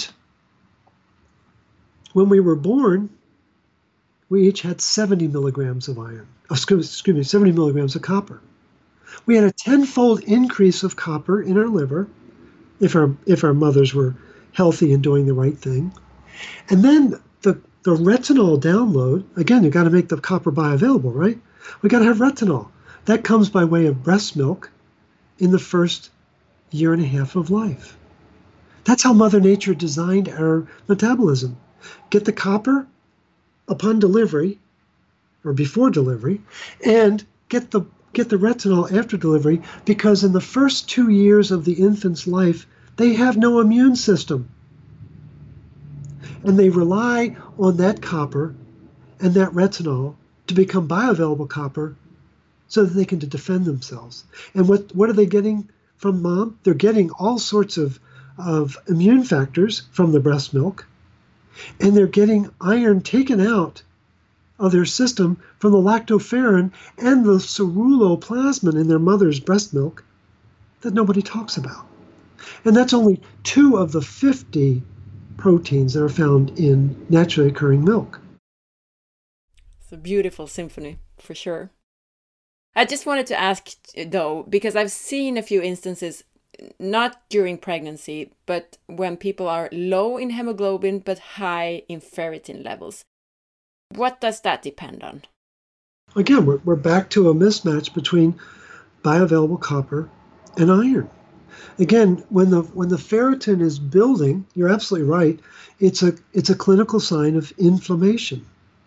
when we were born, we each had seventy milligrams of iron, oh, excuse, excuse me, seventy milligrams of copper. We had a tenfold increase of copper in our liver if our, if our mothers were healthy and doing the right thing. And then the The retinol download, again, you've got to make the copper bioavailable, right? We got to have retinol. That comes by way of breast milk in the first year and a half of life. That's how Mother Nature designed our metabolism. Get the copper upon delivery, or before delivery, and get the, get the retinol after delivery, because in the first two years of the infant's life, they have no immune system. And they rely on that copper and that retinol to become bioavailable copper so that they can defend themselves. And what, what are they getting from mom? They're getting all sorts of, of immune factors from the breast milk, and they're getting iron taken out of their system from the lactoferrin and the ceruloplasmin in their mother's breast milk that nobody talks about. And that's only two of the fifty proteins that are found in naturally occurring milk. It's a beautiful symphony, for sure. I just wanted to ask, though, because I've seen a few instances, not during pregnancy, but when people are low in hemoglobin but high in ferritin levels. What does that depend on? Again, we're, we're back to a mismatch between bioavailable copper and iron. Again, when the when the ferritin is building, you're absolutely right, it's a it's a clinical sign of inflammation.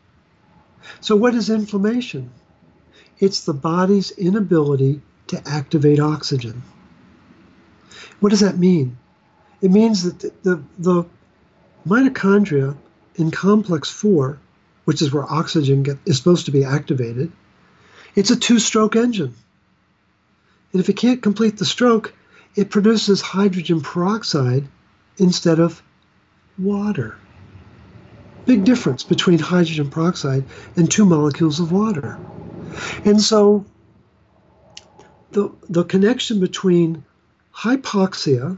So what is inflammation? It's the body's inability to activate oxygen. What does that mean? It means that the, the, the mitochondria in complex four, which is where oxygen get, is supposed to be activated, it's a two-stroke engine. And if it can't complete the stroke, it produces hydrogen peroxide instead of water. Big difference between hydrogen peroxide and two molecules of water. And so the, the connection between hypoxia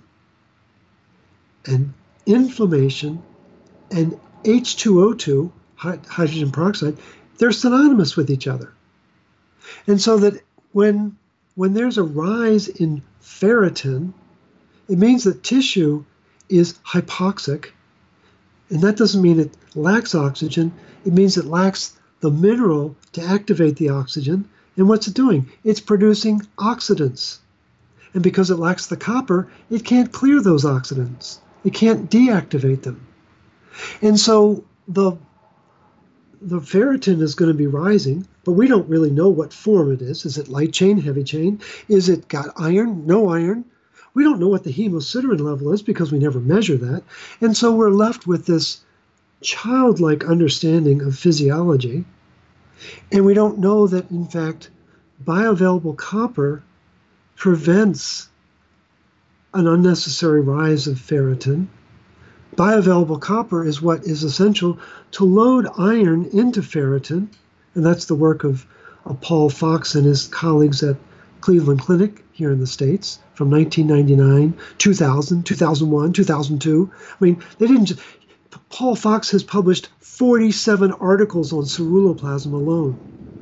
and inflammation and H two O two, hydrogen peroxide, they're synonymous with each other. And so that when, when there's a rise in ferritin, it means that tissue is hypoxic. And that doesn't mean it lacks oxygen. It means it lacks the mineral to activate the oxygen. And what's it doing? It's producing oxidants. And because it lacks the copper, it can't clear those oxidants. It can't deactivate them. And so the, the ferritin is going to be rising, but we don't really know what form it is. Is it light chain, heavy chain? Is it got iron, no iron? We don't know what the hemosiderin level is because we never measure that. And so we're left with this childlike understanding of physiology. And we don't know that, in fact, bioavailable copper prevents an unnecessary rise of ferritin. Bioavailable copper is what is essential to load iron into ferritin, and that's the work of, of Paul Fox and his colleagues at Cleveland Clinic here in the States from nineteen ninety-nine, two thousand, two thousand one, two thousand two. I mean, they didn't just, Paul Fox has published forty-seven articles on ceruloplasmin alone.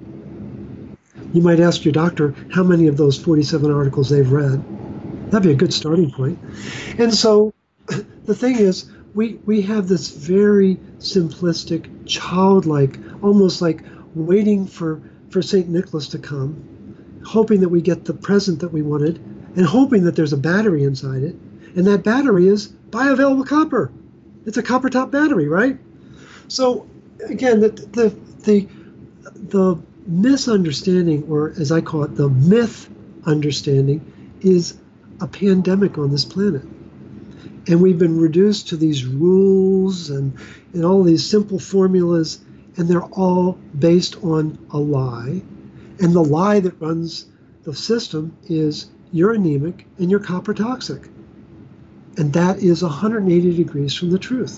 You might ask your doctor how many of those forty-seven articles they've read. That'd be a good starting point. And so the thing is, we, we have this very simplistic, childlike, almost like waiting for, for Saint Nicholas to come, hoping that we get the present that we wanted, and hoping that there's a battery inside it. And that battery is bioavailable copper. It's a copper top battery, right? So again, the, the, the, the misunderstanding, or as I call it, the myth understanding, is a pandemic on this planet. And we've been reduced to these rules and, and all these simple formulas, and they're all based on a lie. And the lie that runs the system is you're anemic and you're copper toxic. And that is one hundred eighty degrees from the truth.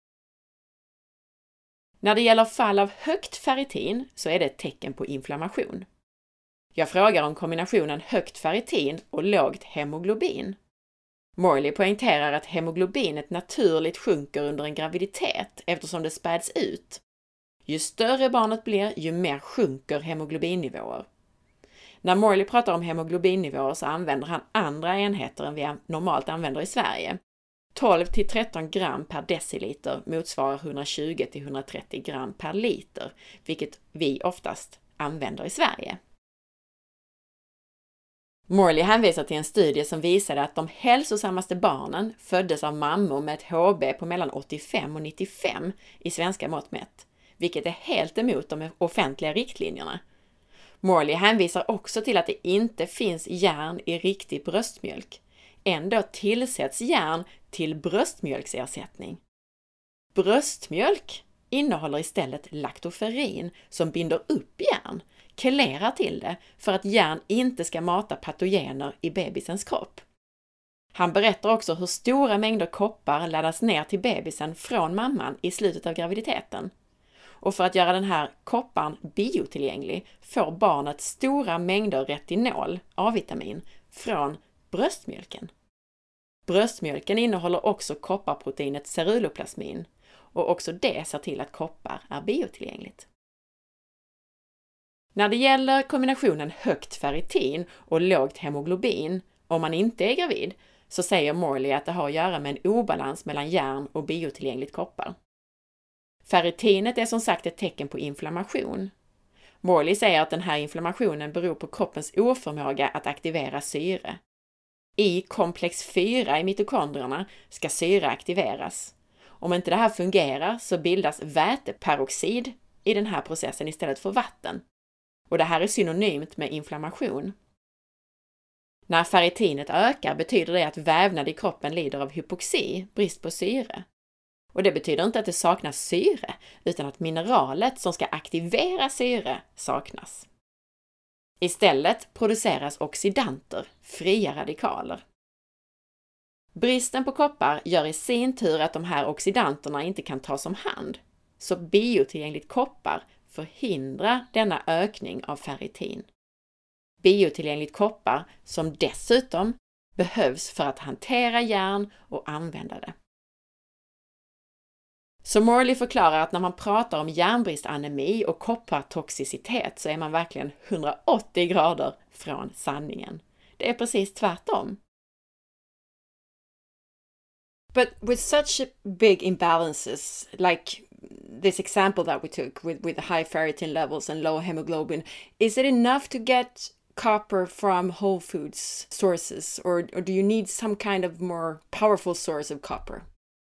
När det gäller fall av högt ferritin så är det ett tecken på inflammation. Jag frågar om kombinationen högt ferritin och lågt hemoglobin. Morley poängterar att hemoglobinet naturligt sjunker under en graviditet eftersom det späds ut. Ju större barnet blir, ju mer sjunker hemoglobinnivåer. När Morley pratar om hemoglobinnivåer så använder han andra enheter än vi normalt använder i Sverige. tolv till tretton gram per deciliter motsvarar hundratjugo till hundratrettio gram per liter, vilket vi oftast använder i Sverige. Morley hänvisar till en studie som visade att de hälsosammaste barnen föddes av mammor med ett H B på mellan åttiofem och nittiofem i svenska mått mätt, vilket är helt emot de offentliga riktlinjerna. Morley hänvisar också till att det inte finns järn i riktig bröstmjölk. Ändå tillsätts järn till bröstmjölksersättning. Bröstmjölk innehåller istället laktoferrin som binder upp järn, kelerar till det för att järn inte ska mata patogener i bebisens kropp. Han berättar också hur stora mängder koppar laddas ner till bebisen från mamman i slutet av graviditeten. Och för att göra den här kopparn biotillgänglig får barnet stora mängder retinol, A-vitamin, från bröstmjölken. Bröstmjölken innehåller också kopparproteinet ceruloplasmin och också det ser till att koppar är biotillgängligt. När det gäller kombinationen högt ferritin och lågt hemoglobin om man inte är gravid så säger Morley att det har att göra med en obalans mellan järn och biotillgängligt koppar. Ferritinet är som sagt ett tecken på inflammation. Morley säger att den här inflammationen beror på kroppens oförmåga att aktivera syre. I komplex fyra i mitokondrierna ska syre aktiveras. Om inte det här fungerar så bildas väteperoxid i den här processen istället för vatten. Och det här är synonymt med inflammation. När ferritinet ökar betyder det att vävnad i kroppen lider av hypoxi, brist på syre. Och det betyder inte att det saknas syre, utan att mineralet som ska aktivera syre saknas. Istället produceras oxidanter, fria radikaler. Bristen på koppar gör i sin tur att de här oxidanterna inte kan tas om hand, så biotillgängligt koppar förhindrar denna ökning av ferritin. Biotillgängligt koppar som dessutom behövs för att hantera järn och använda det. Så Morley förklarar att när man pratar om järnbristanemi och koppartoxicitet så är man verkligen hundraåttio grader från sanningen. Det är precis tvärtom. But with such big imbalances, like this example that we took with, with high ferritin levels and low hemoglobin, is it enough to get copper from whole foods sources, or, or do you need some kind of more powerful source of copper?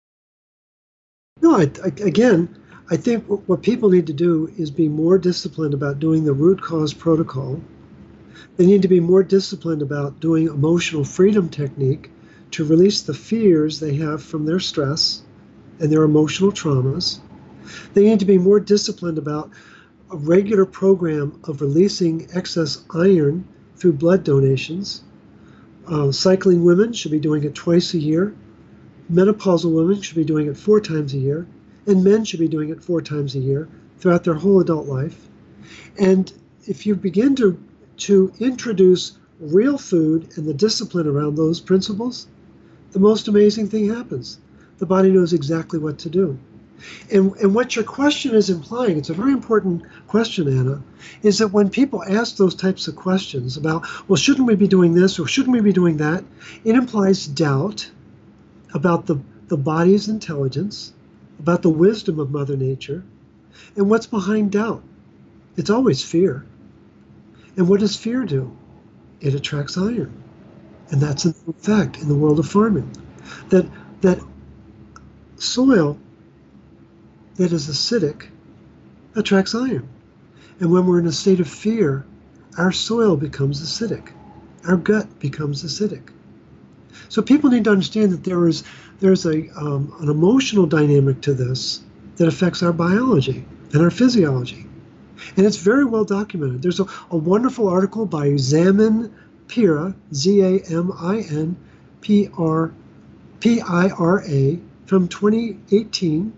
No, I, I, again, I think what people need to do is be more disciplined about doing the root cause protocol. They need to be more disciplined about doing emotional freedom technique to release the fears they have from their stress and their emotional traumas. They need to be more disciplined about a regular program of releasing excess iron through blood donations. Uh, cycling women should be doing it twice a year. Menopausal women should be doing it four times a year, and men should be doing it four times a year throughout their whole adult life. And if you begin to, to introduce real food and the discipline around those principles, the most amazing thing happens. The body knows exactly what to do. And, and what your question is implying, it's a very important question, Anna, is that when people ask those types of questions about, well, shouldn't we be doing this or shouldn't we be doing that, it implies doubt about the, the body's intelligence, about the wisdom of Mother Nature. And what's behind doubt? It's always fear. And what does fear do? It attracts iron. And that's an fact in the world of farming. That, that soil that is acidic attracts iron. And when we're in a state of fear, our soil becomes acidic. Our gut becomes acidic. So people need to understand that there is there's a um, an emotional dynamic to this that affects our biology and our physiology. And it's very well documented. There's a, a wonderful article by Zamin Pira, Z A M I N P R P I R A, from twenty eighteen.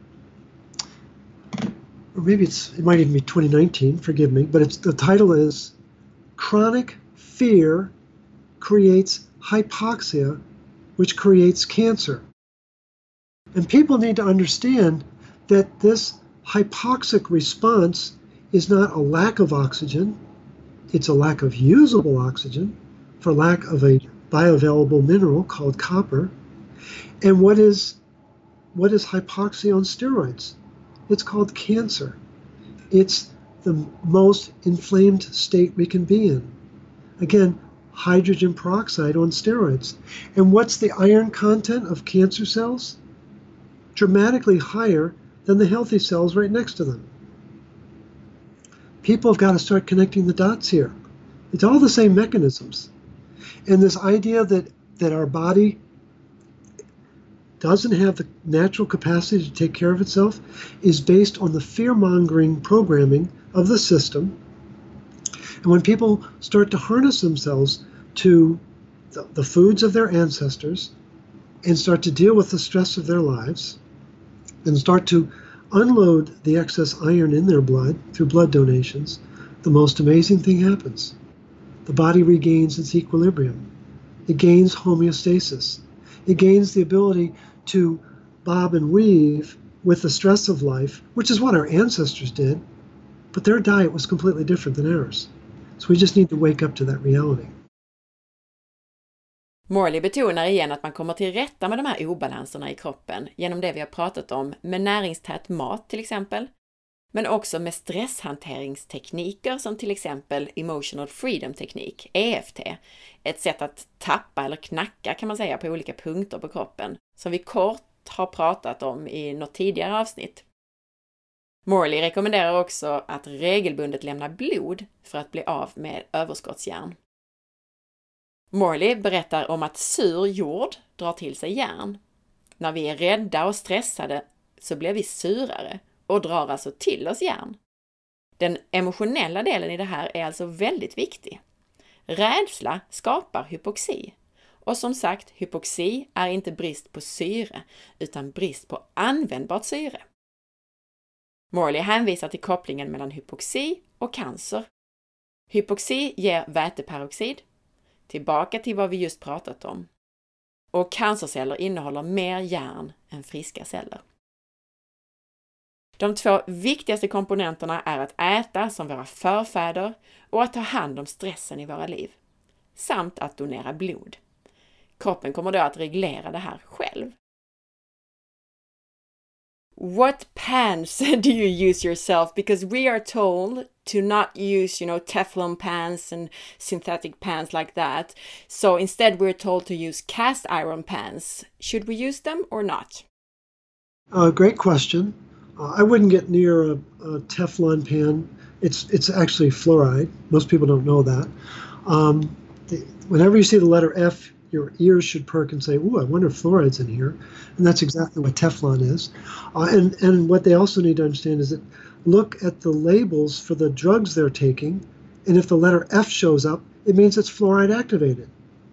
Or maybe it's it might even be twenty nineteen, forgive me, but it's the title is Chronic Fear Creates Hypoxia, which creates cancer. And people need to understand that this hypoxic response is not a lack of oxygen, it's a lack of usable oxygen for lack of a bioavailable mineral called copper. And what is what is hypoxia on steroids? It's called cancer. It's the most inflamed state we can be in. Again, hydrogen peroxide on steroids. And what's the iron content of cancer cells? Dramatically higher than the healthy cells right next to them. People have got to start connecting the dots here. It's all the same mechanisms. And this idea that, that our body doesn't have the natural capacity to take care of itself is based on the fear-mongering programming of the system. And when people start to harness themselves to the, the foods of their ancestors and start to deal with the stress of their lives and start to unload the excess iron in their blood through blood donations, the most amazing thing happens. The body regains its equilibrium. It gains homeostasis. it gains the ability to bob and weave with the stress of life, which is what our ancestors did, but their diet was completely different than ours. So we just need to wake up to that reality. Morley betonar igen att man kommer till rätta med de här obalanserna i kroppen genom det vi har pratat om med näringstät mat till exempel, men också med stresshanteringstekniker som till exempel Emotional Freedom Teknik, E F T, ett sätt att tappa eller knacka kan man säga på olika punkter på kroppen, som vi kort har pratat om i något tidigare avsnitt. Morley rekommenderar också att regelbundet lämna blod för att bli av med överskottsjärn. Morley berättar om att sur jord drar till sig järn. När vi är rädda och stressade så blir vi surare och drar alltså till oss järn. Den emotionella delen i det här är alltså väldigt viktig. Rädsla skapar hypoxi. Och som sagt, hypoxi är inte brist på syre utan brist på användbart syre. Morley hänvisar till kopplingen mellan hypoxi och cancer. Hypoxi ger väteperoxid, tillbaka till vad vi just pratat om. Och cancerceller innehåller mer järn än friska celler. De två viktigaste komponenterna är att äta som våra förfäder och att ta hand om stressen i våra liv. Samt att donera blod. Kroppen kommer då att reglera det här själv. What pans do you use yourself? Because we are told to not use, you know, Teflon pans and synthetic pans like that. So instead we're told to use cast iron pans. Should we use them or not? Uh, great question. Uh, I wouldn't get near a, a Teflon pan. It's it's actually fluoride. Most people don't know that. Um, the, whenever you see the letter F, your ears should perk and say, ooh, I wonder if fluoride's in here. And that's exactly what Teflon is. Uh, and, and what they also need to understand is that look at the labels for the drugs they're taking, and if the letter F shows up, it means it's fluoride activated.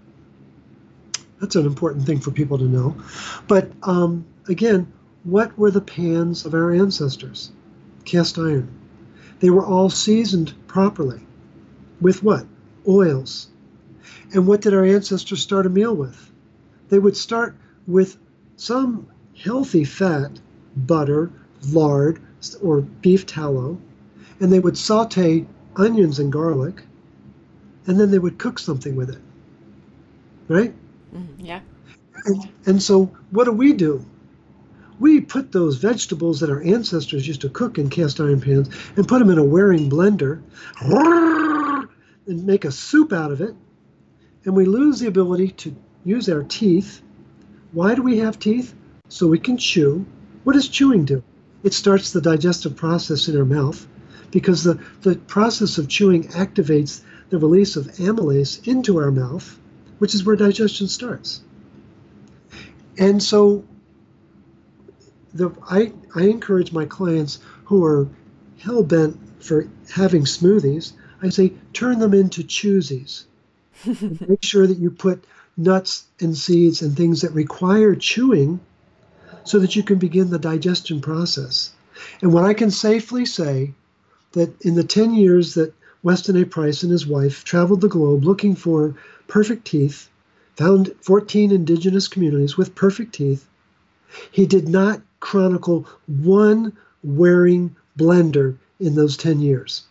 That's an important thing for people to know. But um, again, what were the pans of our ancestors? Cast iron. They were all seasoned properly. With what? Oils. And what did our ancestors start a meal with? They would start with some healthy fat, butter, lard, or beef tallow, and they would saute onions and garlic, and then they would cook something with it. Right? Mm, yeah. And, and so what do we do? We put those vegetables that our ancestors used to cook in cast iron pans and put them in a Waring blender and make a soup out of it. And we lose the ability to use our teeth. Why do we have teeth? So we can chew. What does chewing do? It starts the digestive process in our mouth because the, the process of chewing activates the release of amylase into our mouth, which is where digestion starts. And so the, I, I encourage my clients who are hell-bent for having smoothies, I say, turn them into choosies. Make sure that you put nuts and seeds and things that require chewing so that you can begin the digestion process. And what I can safely say that in the ten years that Weston A. Price and his wife traveled the globe looking for perfect teeth, found fourteen indigenous communities with perfect teeth, he did not chronicle one Waring blender in those ten years.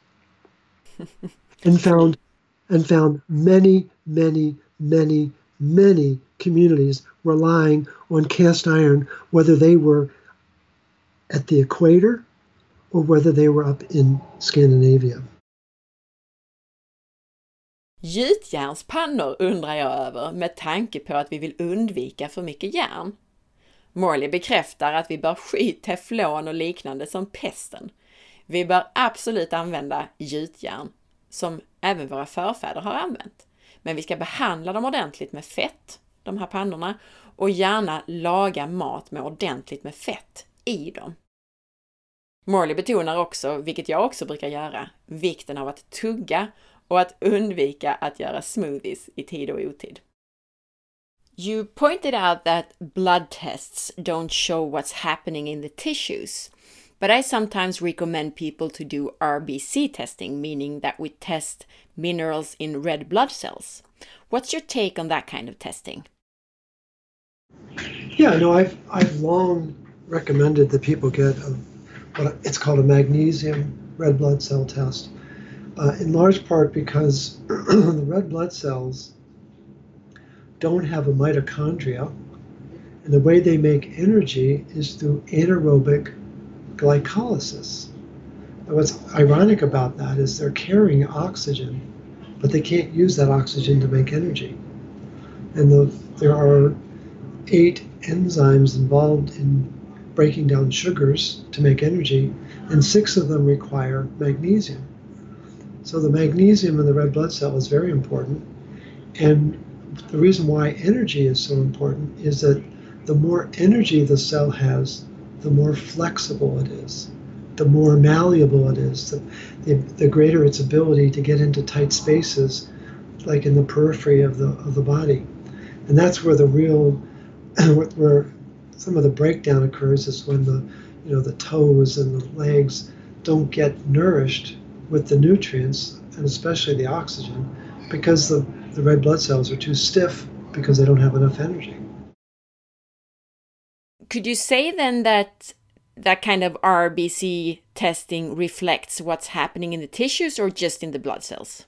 and found and found many, many, many, many communities relying on cast iron, whether they were at the equator or whether they were up in Scandinavia. Gjutjärnspannor undrar jag över med tanke på att vi vill undvika för mycket järn. Morley bekräftar att vi bör sky teflon och liknande som pesten. Vi bör absolut använda gjutjärn, som även våra förfäder har använt. Men vi ska behandla dem ordentligt med fett, de här pannorna, och gärna laga mat med ordentligt med fett i dem. Morley betonar också, vilket jag också brukar göra, vikten av att tugga och att undvika att göra smoothies i tid och otid. You pointed out that blood tests don't show what's happening in the tissues, but I sometimes recommend people to do R B C testing, meaning that we test minerals in red blood cells. What's your take on that kind of testing? Yeah, no, I've I've long recommended that people get a, what it's called a magnesium red blood cell test, uh, in large part because the red blood cells don't have a mitochondria, and the way they make energy is through anaerobic glycolysis. And what's ironic about that is they're carrying oxygen, but they can't use that oxygen to make energy. And the, there are eight enzymes involved in breaking down sugars to make energy, and six of them require magnesium. So the magnesium in the red blood cell is very important. And the reason why energy is so important is that the more energy the cell has, the more flexible it is, the more malleable it is, the, the, the greater its ability to get into tight spaces, like in the periphery of the of the body. And that's where the real, where some of the breakdown occurs, is when the, you know, the toes and the legs don't get nourished with the nutrients, and especially the oxygen, because the, the red blood cells are too stiff because they don't have enough energy. Could you say then that that kind of R B C testing reflects what's happening in the tissues or just in the blood cells?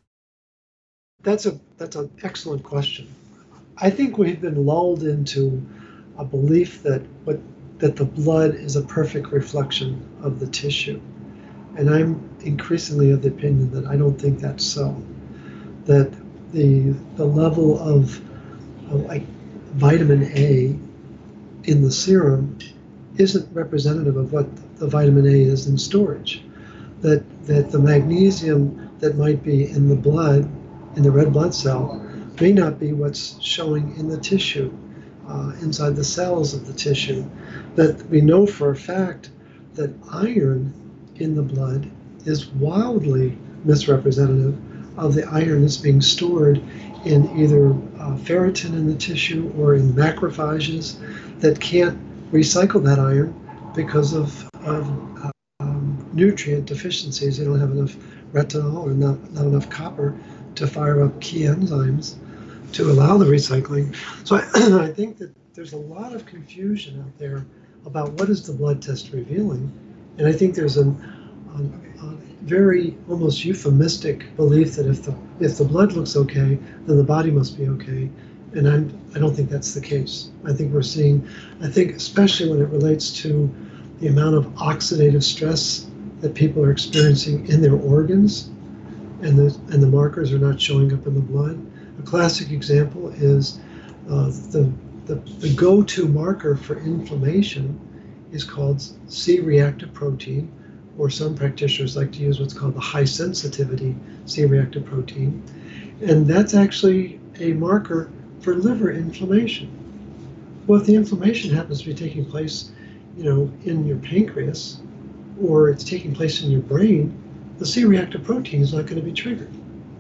That's a that's an excellent question. I think we've been lulled into a belief that what that the blood is a perfect reflection of the tissue. And I'm increasingly of the opinion that I don't think that's so. That the the level of, of like vitamin A in the serum isn't representative of what the vitamin A is in storage. That that the magnesium that might be in the blood, in the red blood cell, may not be what's showing in the tissue, uh, inside the cells of the tissue. That we know for a fact that iron in the blood is wildly misrepresentative of the iron that's being stored in either uh, ferritin in the tissue or in macrophages that can't recycle that iron because of, of uh, um, nutrient deficiencies. They don't have enough retinol or not, not enough copper to fire up key enzymes to allow the recycling. So I, I think that there's a lot of confusion out there about what is the blood test revealing. And I think there's an, a, a very almost euphemistic belief that if the if the blood looks okay, then the body must be okay. And I'm, I don't think that's the case. I think we're seeing, I think especially when it relates to the amount of oxidative stress that people are experiencing in their organs, and the, and the markers are not showing up in the blood. A classic example is uh, the, the, the go-to marker for inflammation is called C-reactive protein, or some practitioners like to use what's called the high sensitivity C-reactive protein. And that's actually a marker for liver inflammation. Well, if the inflammation happens to be taking place, you know, in your pancreas, or it's taking place in your brain, the C-reactive protein is not going to be triggered.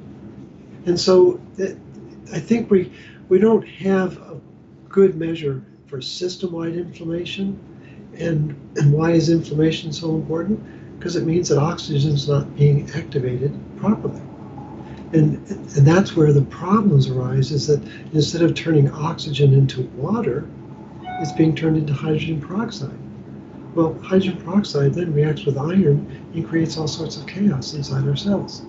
And so that, I think we we don't have a good measure for system-wide inflammation. And, and why is inflammation so important? Because it means that oxygen is not being activated properly. And, and that's where the problems arise, is that instead of turning oxygen into water, it's being turned into hydrogen peroxide. Well, hydrogen peroxide then reacts with iron and creates all sorts of chaos inside our cells.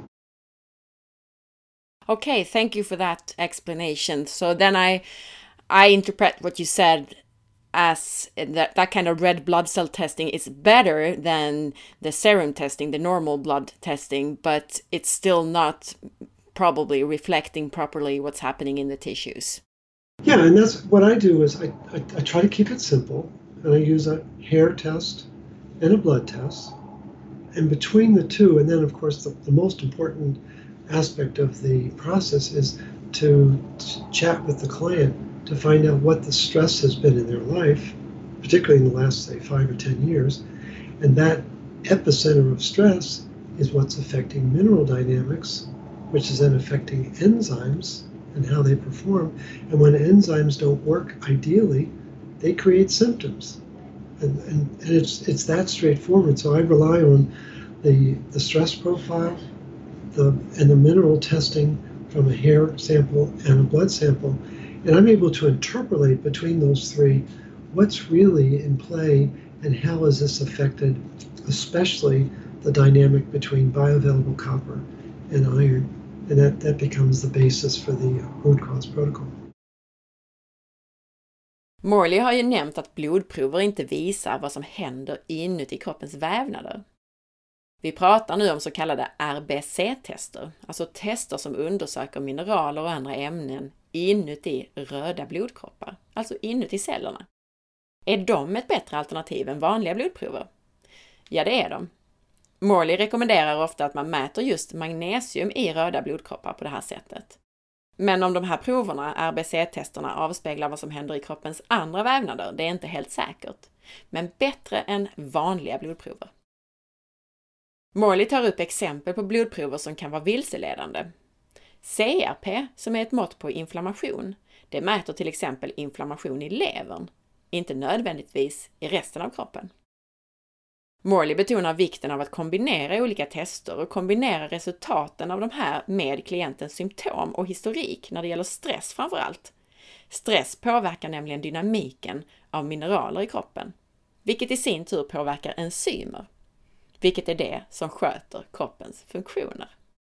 Okay, thank you for that explanation. So then I I interpret what you said as that, that kind of red blood cell testing is better than the serum testing, the normal blood testing, but it's still not probably reflecting properly what's happening in the tissues. Yeah, and that's what I do is I, I, I try to keep it simple, and I use a hair test and a blood test. And between the two, and then of course the, the most important aspect of the process is to, to chat with the client to find out what the stress has been in their life, particularly in the last, say, five or ten years. And that epicenter of stress is what's affecting mineral dynamics, which is then affecting enzymes and how they perform. And when enzymes don't work ideally, they create symptoms. And, and, and it's it's that straightforward. So I rely on the, the stress profile the and the mineral testing from a hair sample and a blood sample. And I'm able to interpolate between those three what's really in play and how is this affected, especially the dynamic between bioavailable copper and iron. And that, that becomes the basis for the root cause protocol. Morley har ju nämnt att blodprover inte visar vad som händer inuti kroppens vävnader. Vi pratar nu om så kallade R B C-tester, alltså tester som undersöker mineraler och andra ämnen inuti röda blodkroppar, alltså inuti cellerna. Är de ett bättre alternativ än vanliga blodprover? Ja, det är de. Morley rekommenderar ofta att man mäter just magnesium i röda blodkroppar på det här sättet. Men om de här proverna, R B C-testerna, avspeglar vad som händer i kroppens andra vävnader, det är inte helt säkert. Men bättre än vanliga blodprover. Morley tar upp exempel på blodprover som kan vara vilseledande. C R P, som är ett mått på inflammation, det mäter till exempel inflammation i levern, inte nödvändigtvis i resten av kroppen. Morley betonar vikten av att kombinera olika tester och kombinera resultaten av de här med klientens symptom och historik när det gäller stress framför allt. Stress påverkar nämligen dynamiken av mineraler i kroppen, vilket i sin tur påverkar enzymer, vilket är det som sköter kroppens funktioner.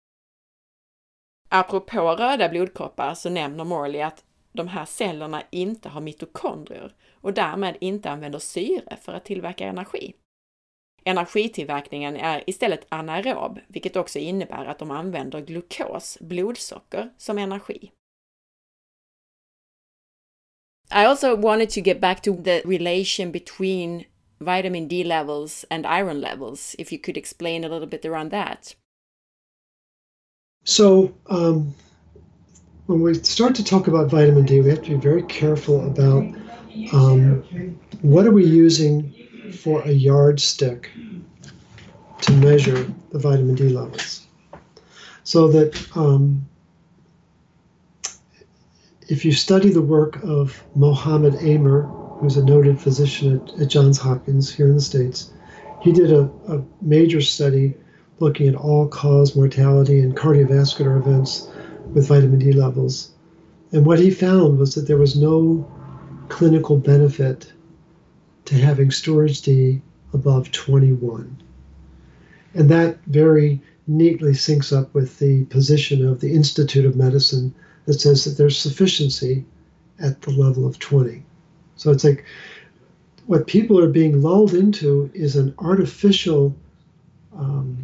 Apropå röda blodkroppar så nämner Morley att de här cellerna inte har mitokondrier och därmed inte använder syre för att tillverka energi. Energitillverkningen är istället anaerob, vilket också innebär att de använder glukos, blodsocker, som energi. I also wanted to get back to the relation between vitamin D levels and iron levels, if you could explain a little bit around that. So um, when we start to talk about vitamin D, we have to be very careful about um, what are we using for a yardstick to measure the vitamin D levels. So that um, if you study the work of Mohammed Amer, who's a noted physician at, at Johns Hopkins here in the States, he did a, a major study looking at all-cause mortality and cardiovascular events with vitamin D levels. And what he found was that there was no clinical benefit to having storage D above twenty-one. And that very neatly syncs up with the position of the Institute of Medicine that says that there's sufficiency at the level of twenty. So it's like what people are being lulled into is an artificial um,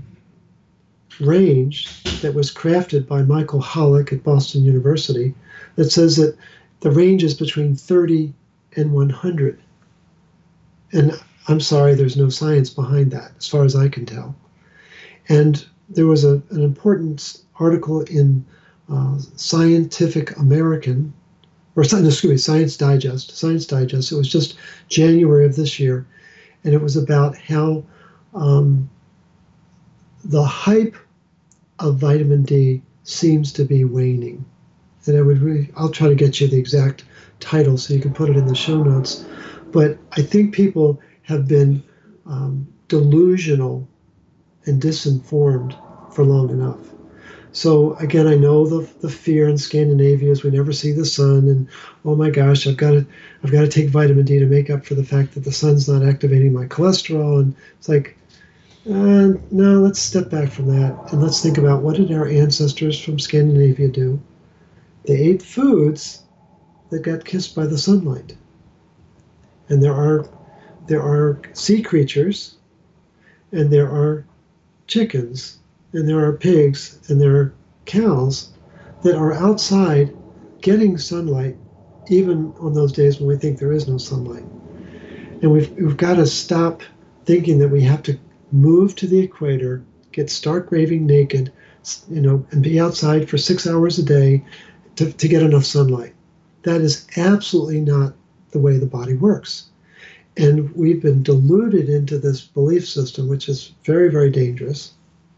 range that was crafted by Michael Hollick at Boston University that says that the range is between thirty and one hundred. And I'm sorry, there's no science behind that, as far as I can tell. And there was a, an important article in uh, Scientific American, or excuse me, Science Digest, Science Digest. It was just January of this year, and it was about how um, the hype of vitamin D seems to be waning. And I would really, I'll try to get you the exact title so you can put it in the show notes. But I think people have been um, delusional and disinformed for long enough. So again, I know the the fear in Scandinavia is we never see the sun, and oh my gosh, I've got to I've got to take vitamin D to make up for the fact that the sun's not activating my cholesterol. And it's like, uh, no, let's step back from that and let's think about what did our ancestors from Scandinavia do? They ate foods that got kissed by the sunlight. And there are there are sea creatures, and there are chickens, and there are pigs, and there are cows that are outside getting sunlight, even on those days when we think there is no sunlight. And we've we've got to stop thinking that we have to move to the equator, get stark raving naked, you know, and be outside for six hours a day to, to get enough sunlight. That is absolutely not the way the body works. And we've been deluded into this belief system, which is very, very dangerous.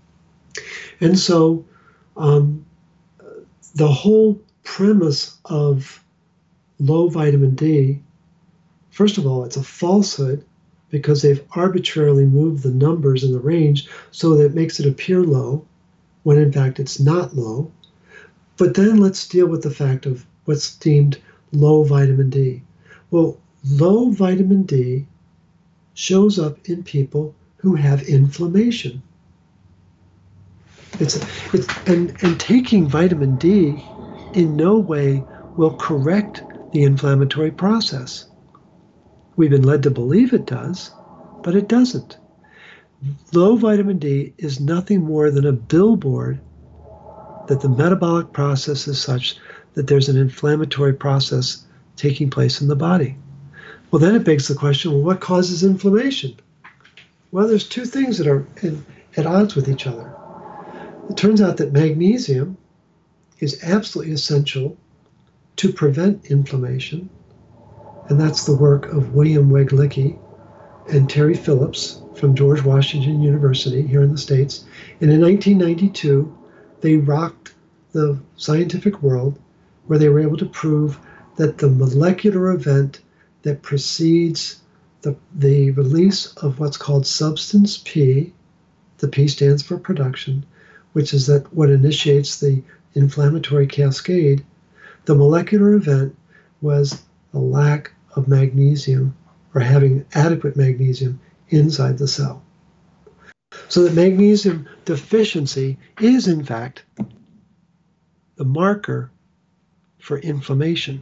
And so um, the whole premise of low vitamin D, first of all, it's a falsehood because they've arbitrarily moved the numbers in the range so that it makes it appear low, when in fact it's not low. But then let's deal with the fact of what's deemed low vitamin D. Well, low vitamin D shows up in people who have inflammation. It's, it's and, and taking vitamin D in no way will correct the inflammatory process. We've been led to believe it does, but it doesn't. Low vitamin D is nothing more than a billboard that the metabolic process is such that there's an inflammatory process taking place in the body. Well, then it begs the question, well, what causes inflammation? Well, there's two things that are in, at odds with each other. It turns out that magnesium is absolutely essential to prevent inflammation, and that's the work of William Weglicki and Terry Phillips from George Washington University here in the States. And in nineteen ninety-two, they rocked the scientific world where they were able to prove that the molecular event that precedes the, the release of what's called substance P, the P stands for production, which is that what initiates the inflammatory cascade, the molecular event was a lack of magnesium or having adequate magnesium inside the cell. So that magnesium deficiency is, in fact, the marker for inflammation.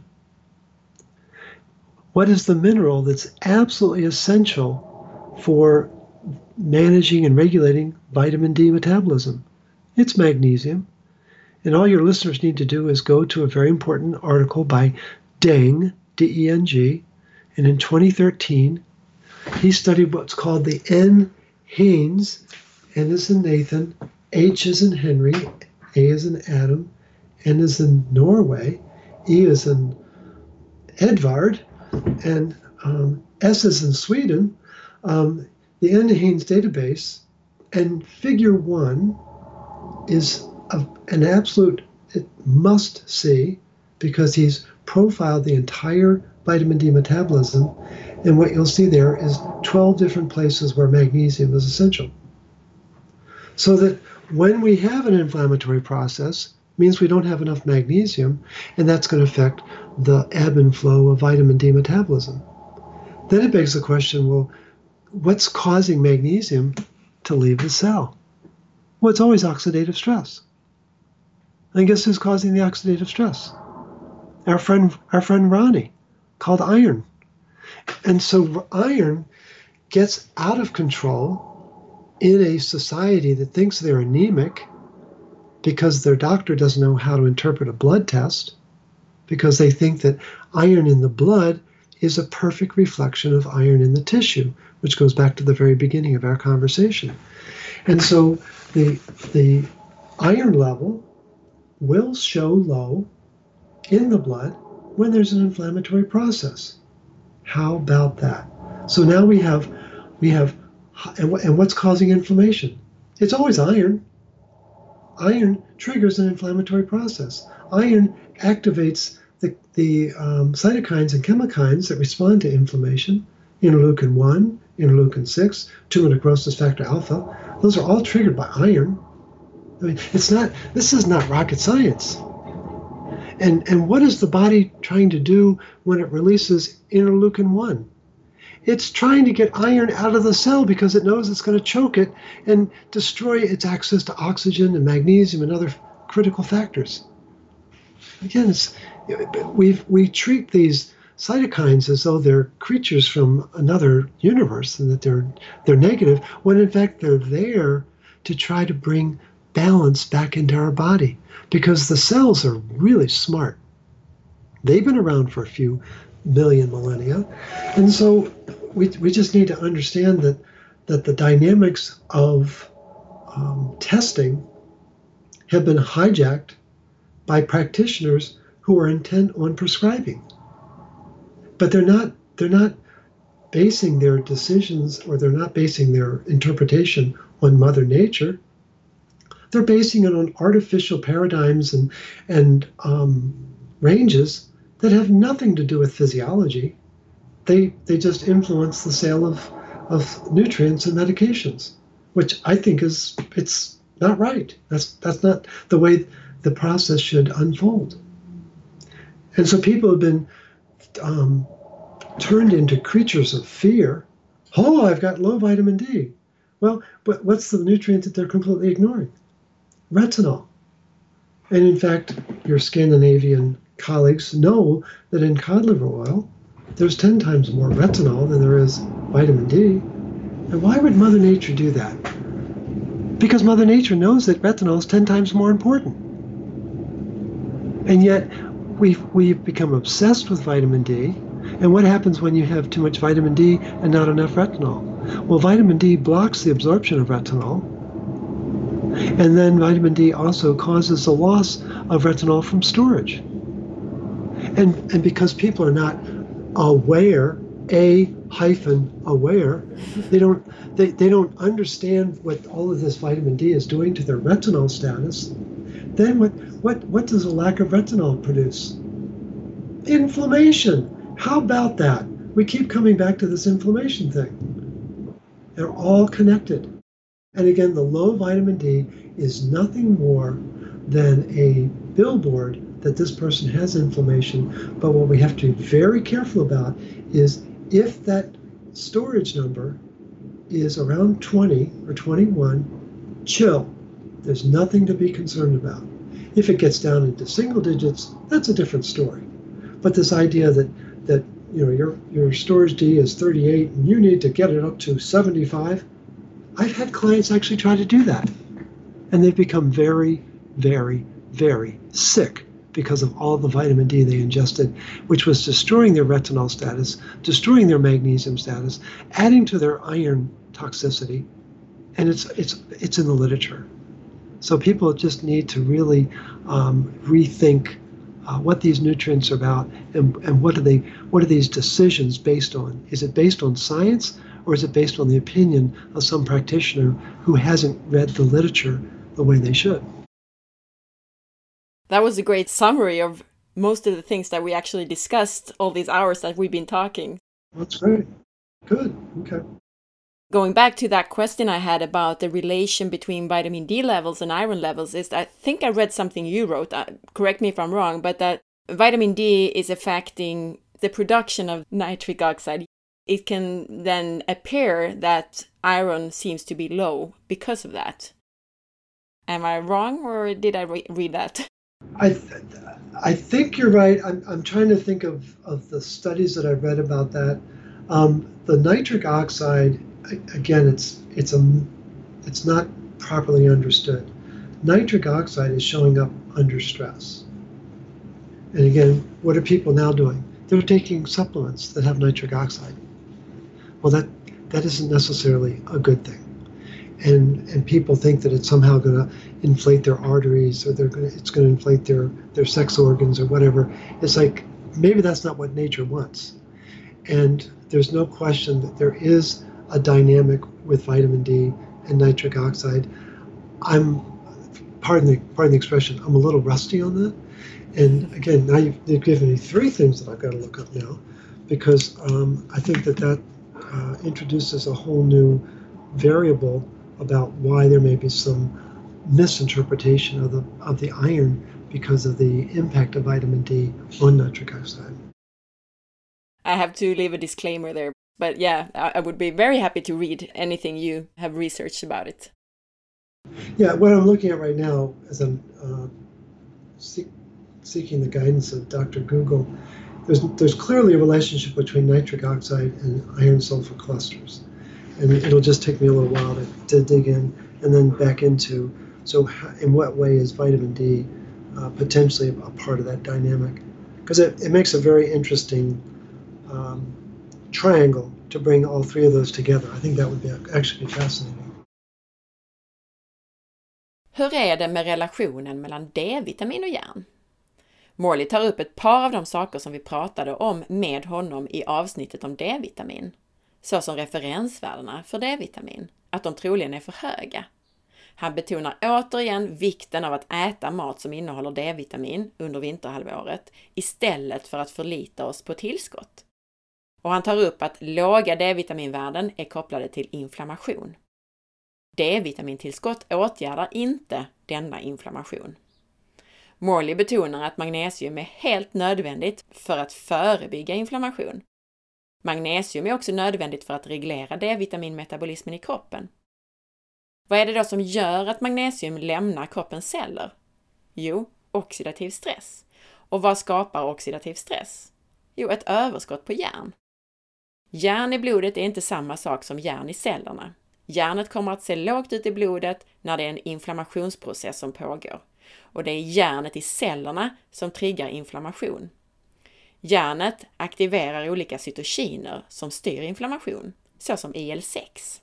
What is the mineral that's absolutely essential for managing and regulating vitamin D metabolism? It's magnesium. And all your listeners need to do is go to a very important article by Deng, D E N G, and in twenty thirteen, he studied what's called the N-Hains, N as in Nathan, H as in Henry, A as in Adam, N as in Norway, E as in Edvard, and um, S as in Sweden, um, the N-Hains database, and figure one is a, an absolute must-see because he's profiled the entire vitamin D metabolism, and what you'll see there is twelve different places where magnesium is essential. So that when we have an inflammatory process, means we don't have enough magnesium, and that's going to affect the ebb and flow of vitamin D metabolism. Then it begs the question, well, what's causing magnesium to leave the cell? Well, it's always oxidative stress. And guess who's causing the oxidative stress? Our friend, our friend Ronnie, called iron. And so iron gets out of control in a society that thinks they're anemic because their doctor doesn't know how to interpret a blood test, because they think that iron in the blood is a perfect reflection of iron in the tissue, which goes back to the very beginning of our conversation. And so the, the iron level will show low in the blood when there's an inflammatory process. How about that? So now we have, we have, and, and what's causing inflammation? It's always iron. Iron triggers an inflammatory process. Iron activates the, the um, cytokines and chemokines that respond to inflammation, interleukin one, interleukin six, tumor necrosis factor alpha. Those are all triggered by iron. I mean, it's not, this is not rocket science. And, and what is the body trying to do when it releases interleukin one? It's trying to get iron out of the cell because it knows it's going to choke it and destroy its access to oxygen and magnesium and other critical factors. Again, it's, we've, we treat these cytokines as though they're creatures from another universe and that they're, they're negative, when in fact they're there to try to bring balance back into our body, because the cells are really smart. They've been around for a few million millennia. And so we, we just need to understand that, that the dynamics of um, testing have been hijacked by practitioners who are intent on prescribing. But they're not, they're not basing their decisions, or they're not basing their interpretation on Mother Nature. They're basing it on artificial paradigms and, and um, ranges that have nothing to do with physiology. They, they just influence the sale of, of nutrients and medications, which I think is, it's not right. That's, that's not the way the process should unfold. And so people have been um, turned into creatures of fear. Oh, I've got low vitamin D. Well, but what's the nutrient that they're completely ignoring? Retinol. And in fact, your Scandinavian colleagues know that in cod liver oil, there's ten times more retinol than there is vitamin D. And why would Mother Nature do that? Because Mother Nature knows that retinol is ten times more important. And yet, we've, we've become obsessed with vitamin D. And what happens when you have too much vitamin D and not enough retinol? Well, vitamin D blocks the absorption of retinol. And then vitamin D also causes the loss of retinol from storage. And, and because people are not aware, A hyphen aware, they don't, they, they don't understand what all of this vitamin D is doing to their retinol status. Then what, what, what does a lack of retinol produce? Inflammation. How about that? We keep coming back to this inflammation thing. They're all connected. And again, the low vitamin D is nothing more than a billboard that this person has inflammation. But what we have to be very careful about is if that storage number is around twenty or twenty-one, chill. There's nothing to be concerned about. If it gets down into single digits, that's a different story. But this idea that that you know your your storage D is thirty-eight and you need to get it up to seventy-five, I've had clients actually try to do that, and they've become very, very, very sick because of all the vitamin D they ingested, which was destroying their retinol status, destroying their magnesium status, adding to their iron toxicity, and it's it's it's in the literature. So people just need to really um, rethink uh, what these nutrients are about, and, and what are they what are these decisions based on? Is it based on science, or is it based on the opinion of some practitioner who hasn't read the literature the way they should? That was a great summary of most of the things that we actually discussed all these hours that we've been talking. That's great. Good. Okay. Going back to that question I had about the relation between vitamin D levels and iron levels, is I think I read something you wrote, uh, correct me if I'm wrong, but that vitamin D is affecting the production of nitric oxide. It can then appear that iron seems to be low because of that. Am I wrong, or did I re- read that? I th- I think you're right. I'm I'm trying to think of, of the studies that I've read about that. Um, the nitric oxide, again, it's it's a it's not properly understood. Nitric oxide is showing up under stress. And again, what are people now doing? They're taking supplements that have nitric oxide. Well, that that isn't necessarily a good thing. And and people think that it's somehow going to inflate their arteries, or they're going to, it's going to inflate their, their sex organs or whatever. It's like, maybe that's not what nature wants. And there's no question that there is a dynamic with vitamin D and nitric oxide. I'm, pardon the, pardon the expression, I'm a little rusty on that. And again, now you've, you've given me three things that I've got to look up now, because um, I think that that uh, introduces a whole new variable about why there may be some misinterpretation of the of the iron because of the impact of vitamin D on nitric oxide. I have to leave a disclaimer there, but yeah, I would be very happy to read anything you have researched about it. Yeah, what I'm looking at right now as I'm uh, seek, seeking the guidance of Doctor Google, there's there's clearly a relationship between nitric oxide and iron sulfur clusters. And it'll just take me a little while to, to dig in and then back into, so how, in what way is vitamin D uh, potentially a part of that dynamic? Because it, it makes a very interesting um, triangle to bring all three of those together. I think that would be actually be fascinating. Hur är det med relationen mellan D-vitamin och järn? Morley tar upp ett par av de saker som vi pratade om med honom i avsnittet om D-vitamin. Såsom referensvärdena för D-vitamin, att de troligen är för höga. Han betonar återigen vikten av att äta mat som innehåller D-vitamin under vinterhalvåret istället för att förlita oss på tillskott. Och han tar upp att låga D-vitaminvärden är kopplade till inflammation. D-vitamintillskott åtgärdar inte denna inflammation. Morley betonar att magnesium är helt nödvändigt för att förebygga inflammation. Magnesium är också nödvändigt för att reglera D-vitaminmetabolismen i kroppen. Vad är det då som gör att magnesium lämnar kroppens celler? Jo, oxidativ stress. Och vad skapar oxidativ stress? Jo, ett överskott på järn. Järn i blodet är inte samma sak som järn i cellerna. Järnet kommer att se lågt ut i blodet när det är en inflammationsprocess som pågår. Och det är järnet i cellerna som triggar inflammation. Järnet aktiverar olika cytokiner som styr inflammation, såsom I L sex.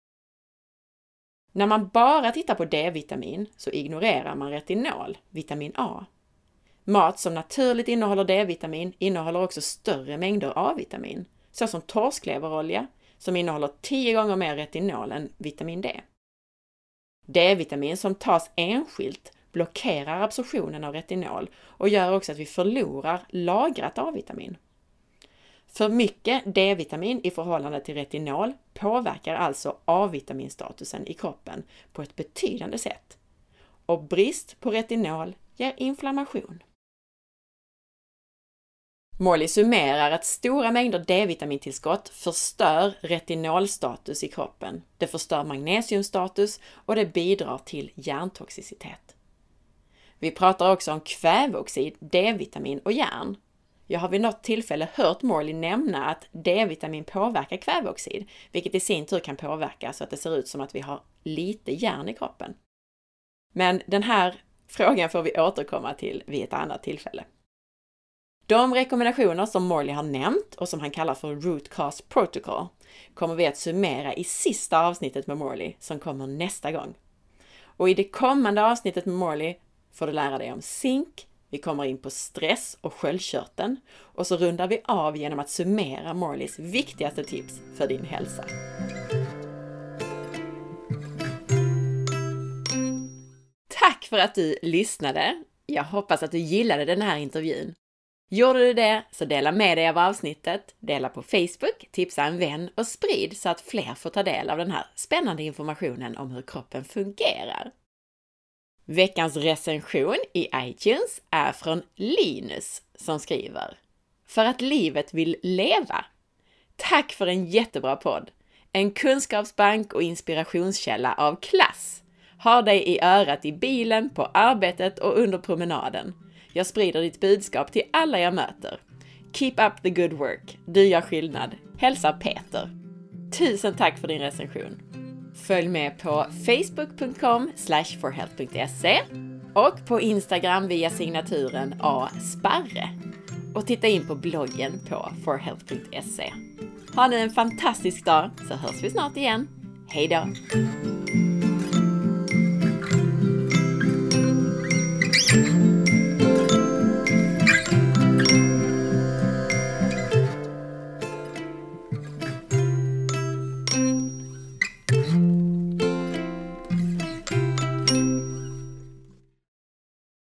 När man bara tittar på D-vitamin så ignorerar man retinol, vitamin A. Mat som naturligt innehåller D-vitamin innehåller också större mängder A-vitamin, såsom torskleverolja som innehåller tio gånger mer retinol än vitamin D. D-vitamin som tas enskilt blockerar absorptionen av retinol och gör också att vi förlorar lagrat A-vitamin. För mycket D-vitamin i förhållande till retinol påverkar alltså A-vitaminstatusen i kroppen på ett betydande sätt. Och brist på retinol ger inflammation. Morley summerar att stora mängder D-vitamintillskott förstör retinolstatus i kroppen. Det förstör magnesiumstatus och det bidrar till hjärntoxicitet. Vi pratar också om kväveoxid, D-vitamin och järn. Jag har vid något tillfälle hört Morley nämna att D-vitamin påverkar kväveoxid, vilket i sin tur kan påverka så att det ser ut som att vi har lite järn i kroppen. Men den här frågan får vi återkomma till vid ett annat tillfälle. De rekommendationer som Morley har nämnt och som han kallar för Root Cause Protocol kommer vi att summera i sista avsnittet med Morley som kommer nästa gång. Och i det kommande avsnittet med Morley får du lära dig om zink, vi kommer in på stress och sköldkörteln och så rundar vi av genom att summera Morleys viktigaste tips för din hälsa. Tack för att du lyssnade. Jag hoppas att du gillade den här intervjun. Gjorde du det så dela med dig av avsnittet, dela på Facebook, tipsa en vän och sprid så att fler får ta del av den här spännande informationen om hur kroppen fungerar. Veckans recension i iTunes är från Linus som skriver: För att livet vill leva. Tack för en jättebra podd. En kunskapsbank och inspirationskälla av klass. Har dig i örat i bilen, på arbetet och under promenaden. Jag sprider ditt budskap till alla jag möter. Keep up the good work. Du gör skillnad. Hälsa Peter. Tusen tack för din recension. Följ med på facebook punkt com slash forhealth punkt se och på Instagram via signaturen A Sparre. Och titta in på bloggen på forhealth punkt se. Ha nu en fantastisk dag så hörs vi snart igen. Hej då!